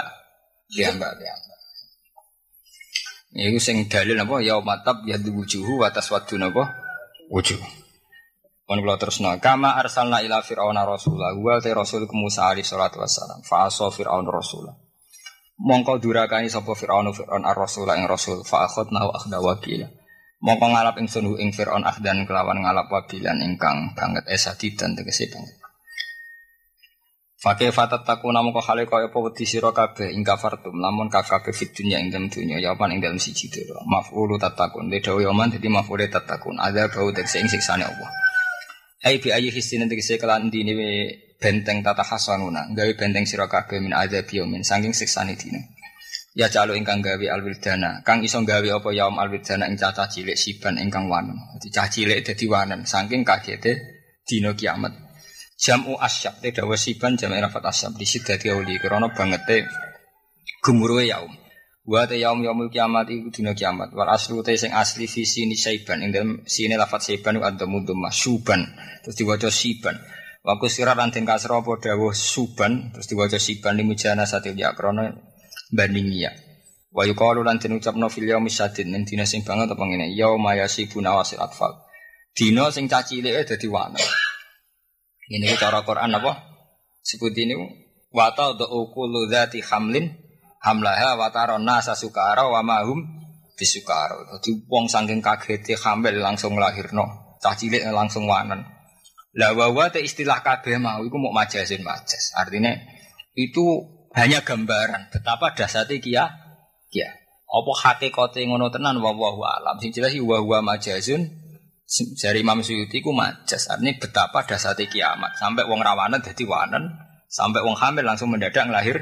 Iku sing dalil apa ya matab ya wujuhu wa taswaddu napa? Wujuh. Mun kula terusno kama arsalna ila fir'auna rasula wa ta rasul Musa alaihi salatu wassalam fa asa fir'aun rasula. Mongko durakani sapa fir'aun ar-rasula ing rasul fa akhadna wa akhda wakila. Mongko ngalap ingsun ing Fir'aun akhdan kelawan ngalap wabilan ingkang banget esadidan tegese banget. Fakih fatat takuna mongko hale kaya apa wedi sira kabeh ing kafartum lamun kabeh fit dunya ing dalem dunya ya apa ing dalem siji dhewe. Maf'ulu tatakun de dawa yaman dadi maf'ule tatakun ada bau tegese ing siksane Allah. Ai bi ayi hisin tegese kelan dine benteng tata hasanuna gawe benteng sira kabeh min adzabi min saking siksane dine. Ya calo ingkang gawe alwildana, kang iso gawe apa yaum alwildana ing cacah cilik siban ingkang wanen. Dadi cah cilik dadi wanen saking kagete dina kiamat. Jamu asyab te dawa siban jam rafat asyab disit dadi uli krana bangete gemuruhe yaum. Wa te yaumul kiamat iku dina kiamat. Wal aslu te sing asli fi sini saiban ing dalem sine lafat saiban ku adamudum masuban terus diwaca siban. Wa kusira lan den kasra apa dawuh suban terus diwaca siban limujana satil ya krana bandingnya. Wa yuqalu lan den ucapno fil yaumi syadid ning dina sing banget apa ngene yauma yasibuna wasil atfal. Dina sing cacilike dadi wana. Ini ku cara Quran apa? Sebut ini wa ta'u kullu dzati hamlin hamlaha wa tarana sasukara wa mahum bisukara. Dadi wong saking kagete hamil langsung lahirno, cah cilik langsung wanen. Lah wa te istilah kabeh mau iku mok majasin majas. Artinya itu hanya gambaran betapa dasate kia. Apa hakikate ngono tenan wallahu alam. Sing jelas wa huwa majazun jari Imam Suyuti ku majas. Artinya betapa dasate kiamat. Sampai wong rawanen dadi wanen, sampai wong hamil langsung mendadak lahir.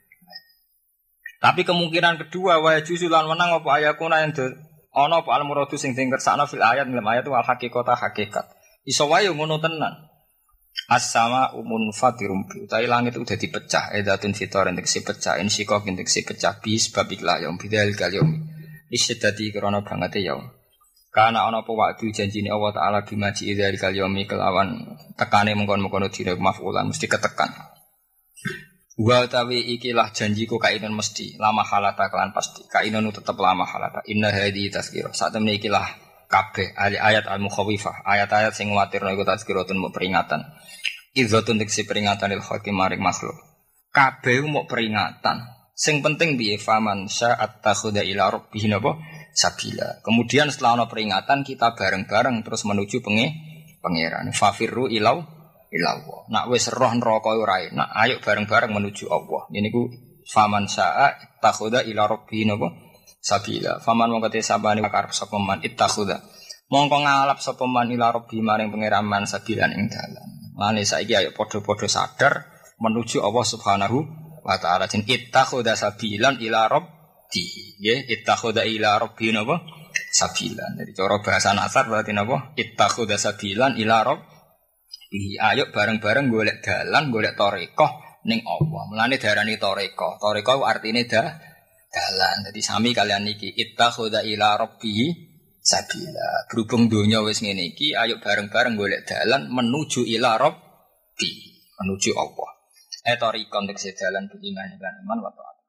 Tapi kemungkinan kedua wa juzulan menang apa ayakuna yang ana apa al muradu sing dikersakno fil ayat dalam ayat wal haqiqata hakikat. Iso wae ngono tenan. As-sama umun fatirum utai langit udah dipecah edatun fitor untuk si pecah insikok untuk si pecah bis babiklah yaum bidal kalium isyadati krana banget yaum karena ana apa waktu janjine Allah taala bimaji idal kalium kelawan tekane mengkon-mengkon dina mafulan mesti ketekan wa tawi ikilah janjiku kainan mesti lama halata kelan pasti kainan tetep lama halata inna hadi tazkirah saat temne ikilah kabeh ayat al-mukhawifah ayat-ayat sing nguwatirno iku tazkiratun peringatan idzatun diksi peringatan il hakim maring makhluk kabeh mau peringatan sing penting piye faman sa'at takhuda ila rabbih napa sabila kemudian setelah ana peringatan kita bareng-bareng terus menuju pangeran fafirru ilau nak wis roh neraka ora enak ayo bareng-bareng menuju Allah niku faman sa'at takhuda ila rabbih napa sabila faman mongko te sabane karep sapa man ittakhudha mongko ngalap sapa man ila rabbi maring pangeran man sabilan ing dalan mane saiki ayo padha-padha sadar menuju Allah Subhanahu wa taala jen ittakhudha sabilan ila rabbi nggih ittakhudha ila rabbi napa sabilan jadi cara bahasa nasar berarti napa ittakhudha sabilan ila rabbi ayo bareng-bareng golek dalan golek tarekah ning Allah mulane diarani tarekah artine dalan. Jadi sami kalian niki ittakhudha ila rabbih sabila. Berhubung dunya wis ngene iki, ayo bareng-bareng golek dalan menuju ila rabbi, menuju Allah. Tariqan tegese dalan beriman lan iman wa ta'ala.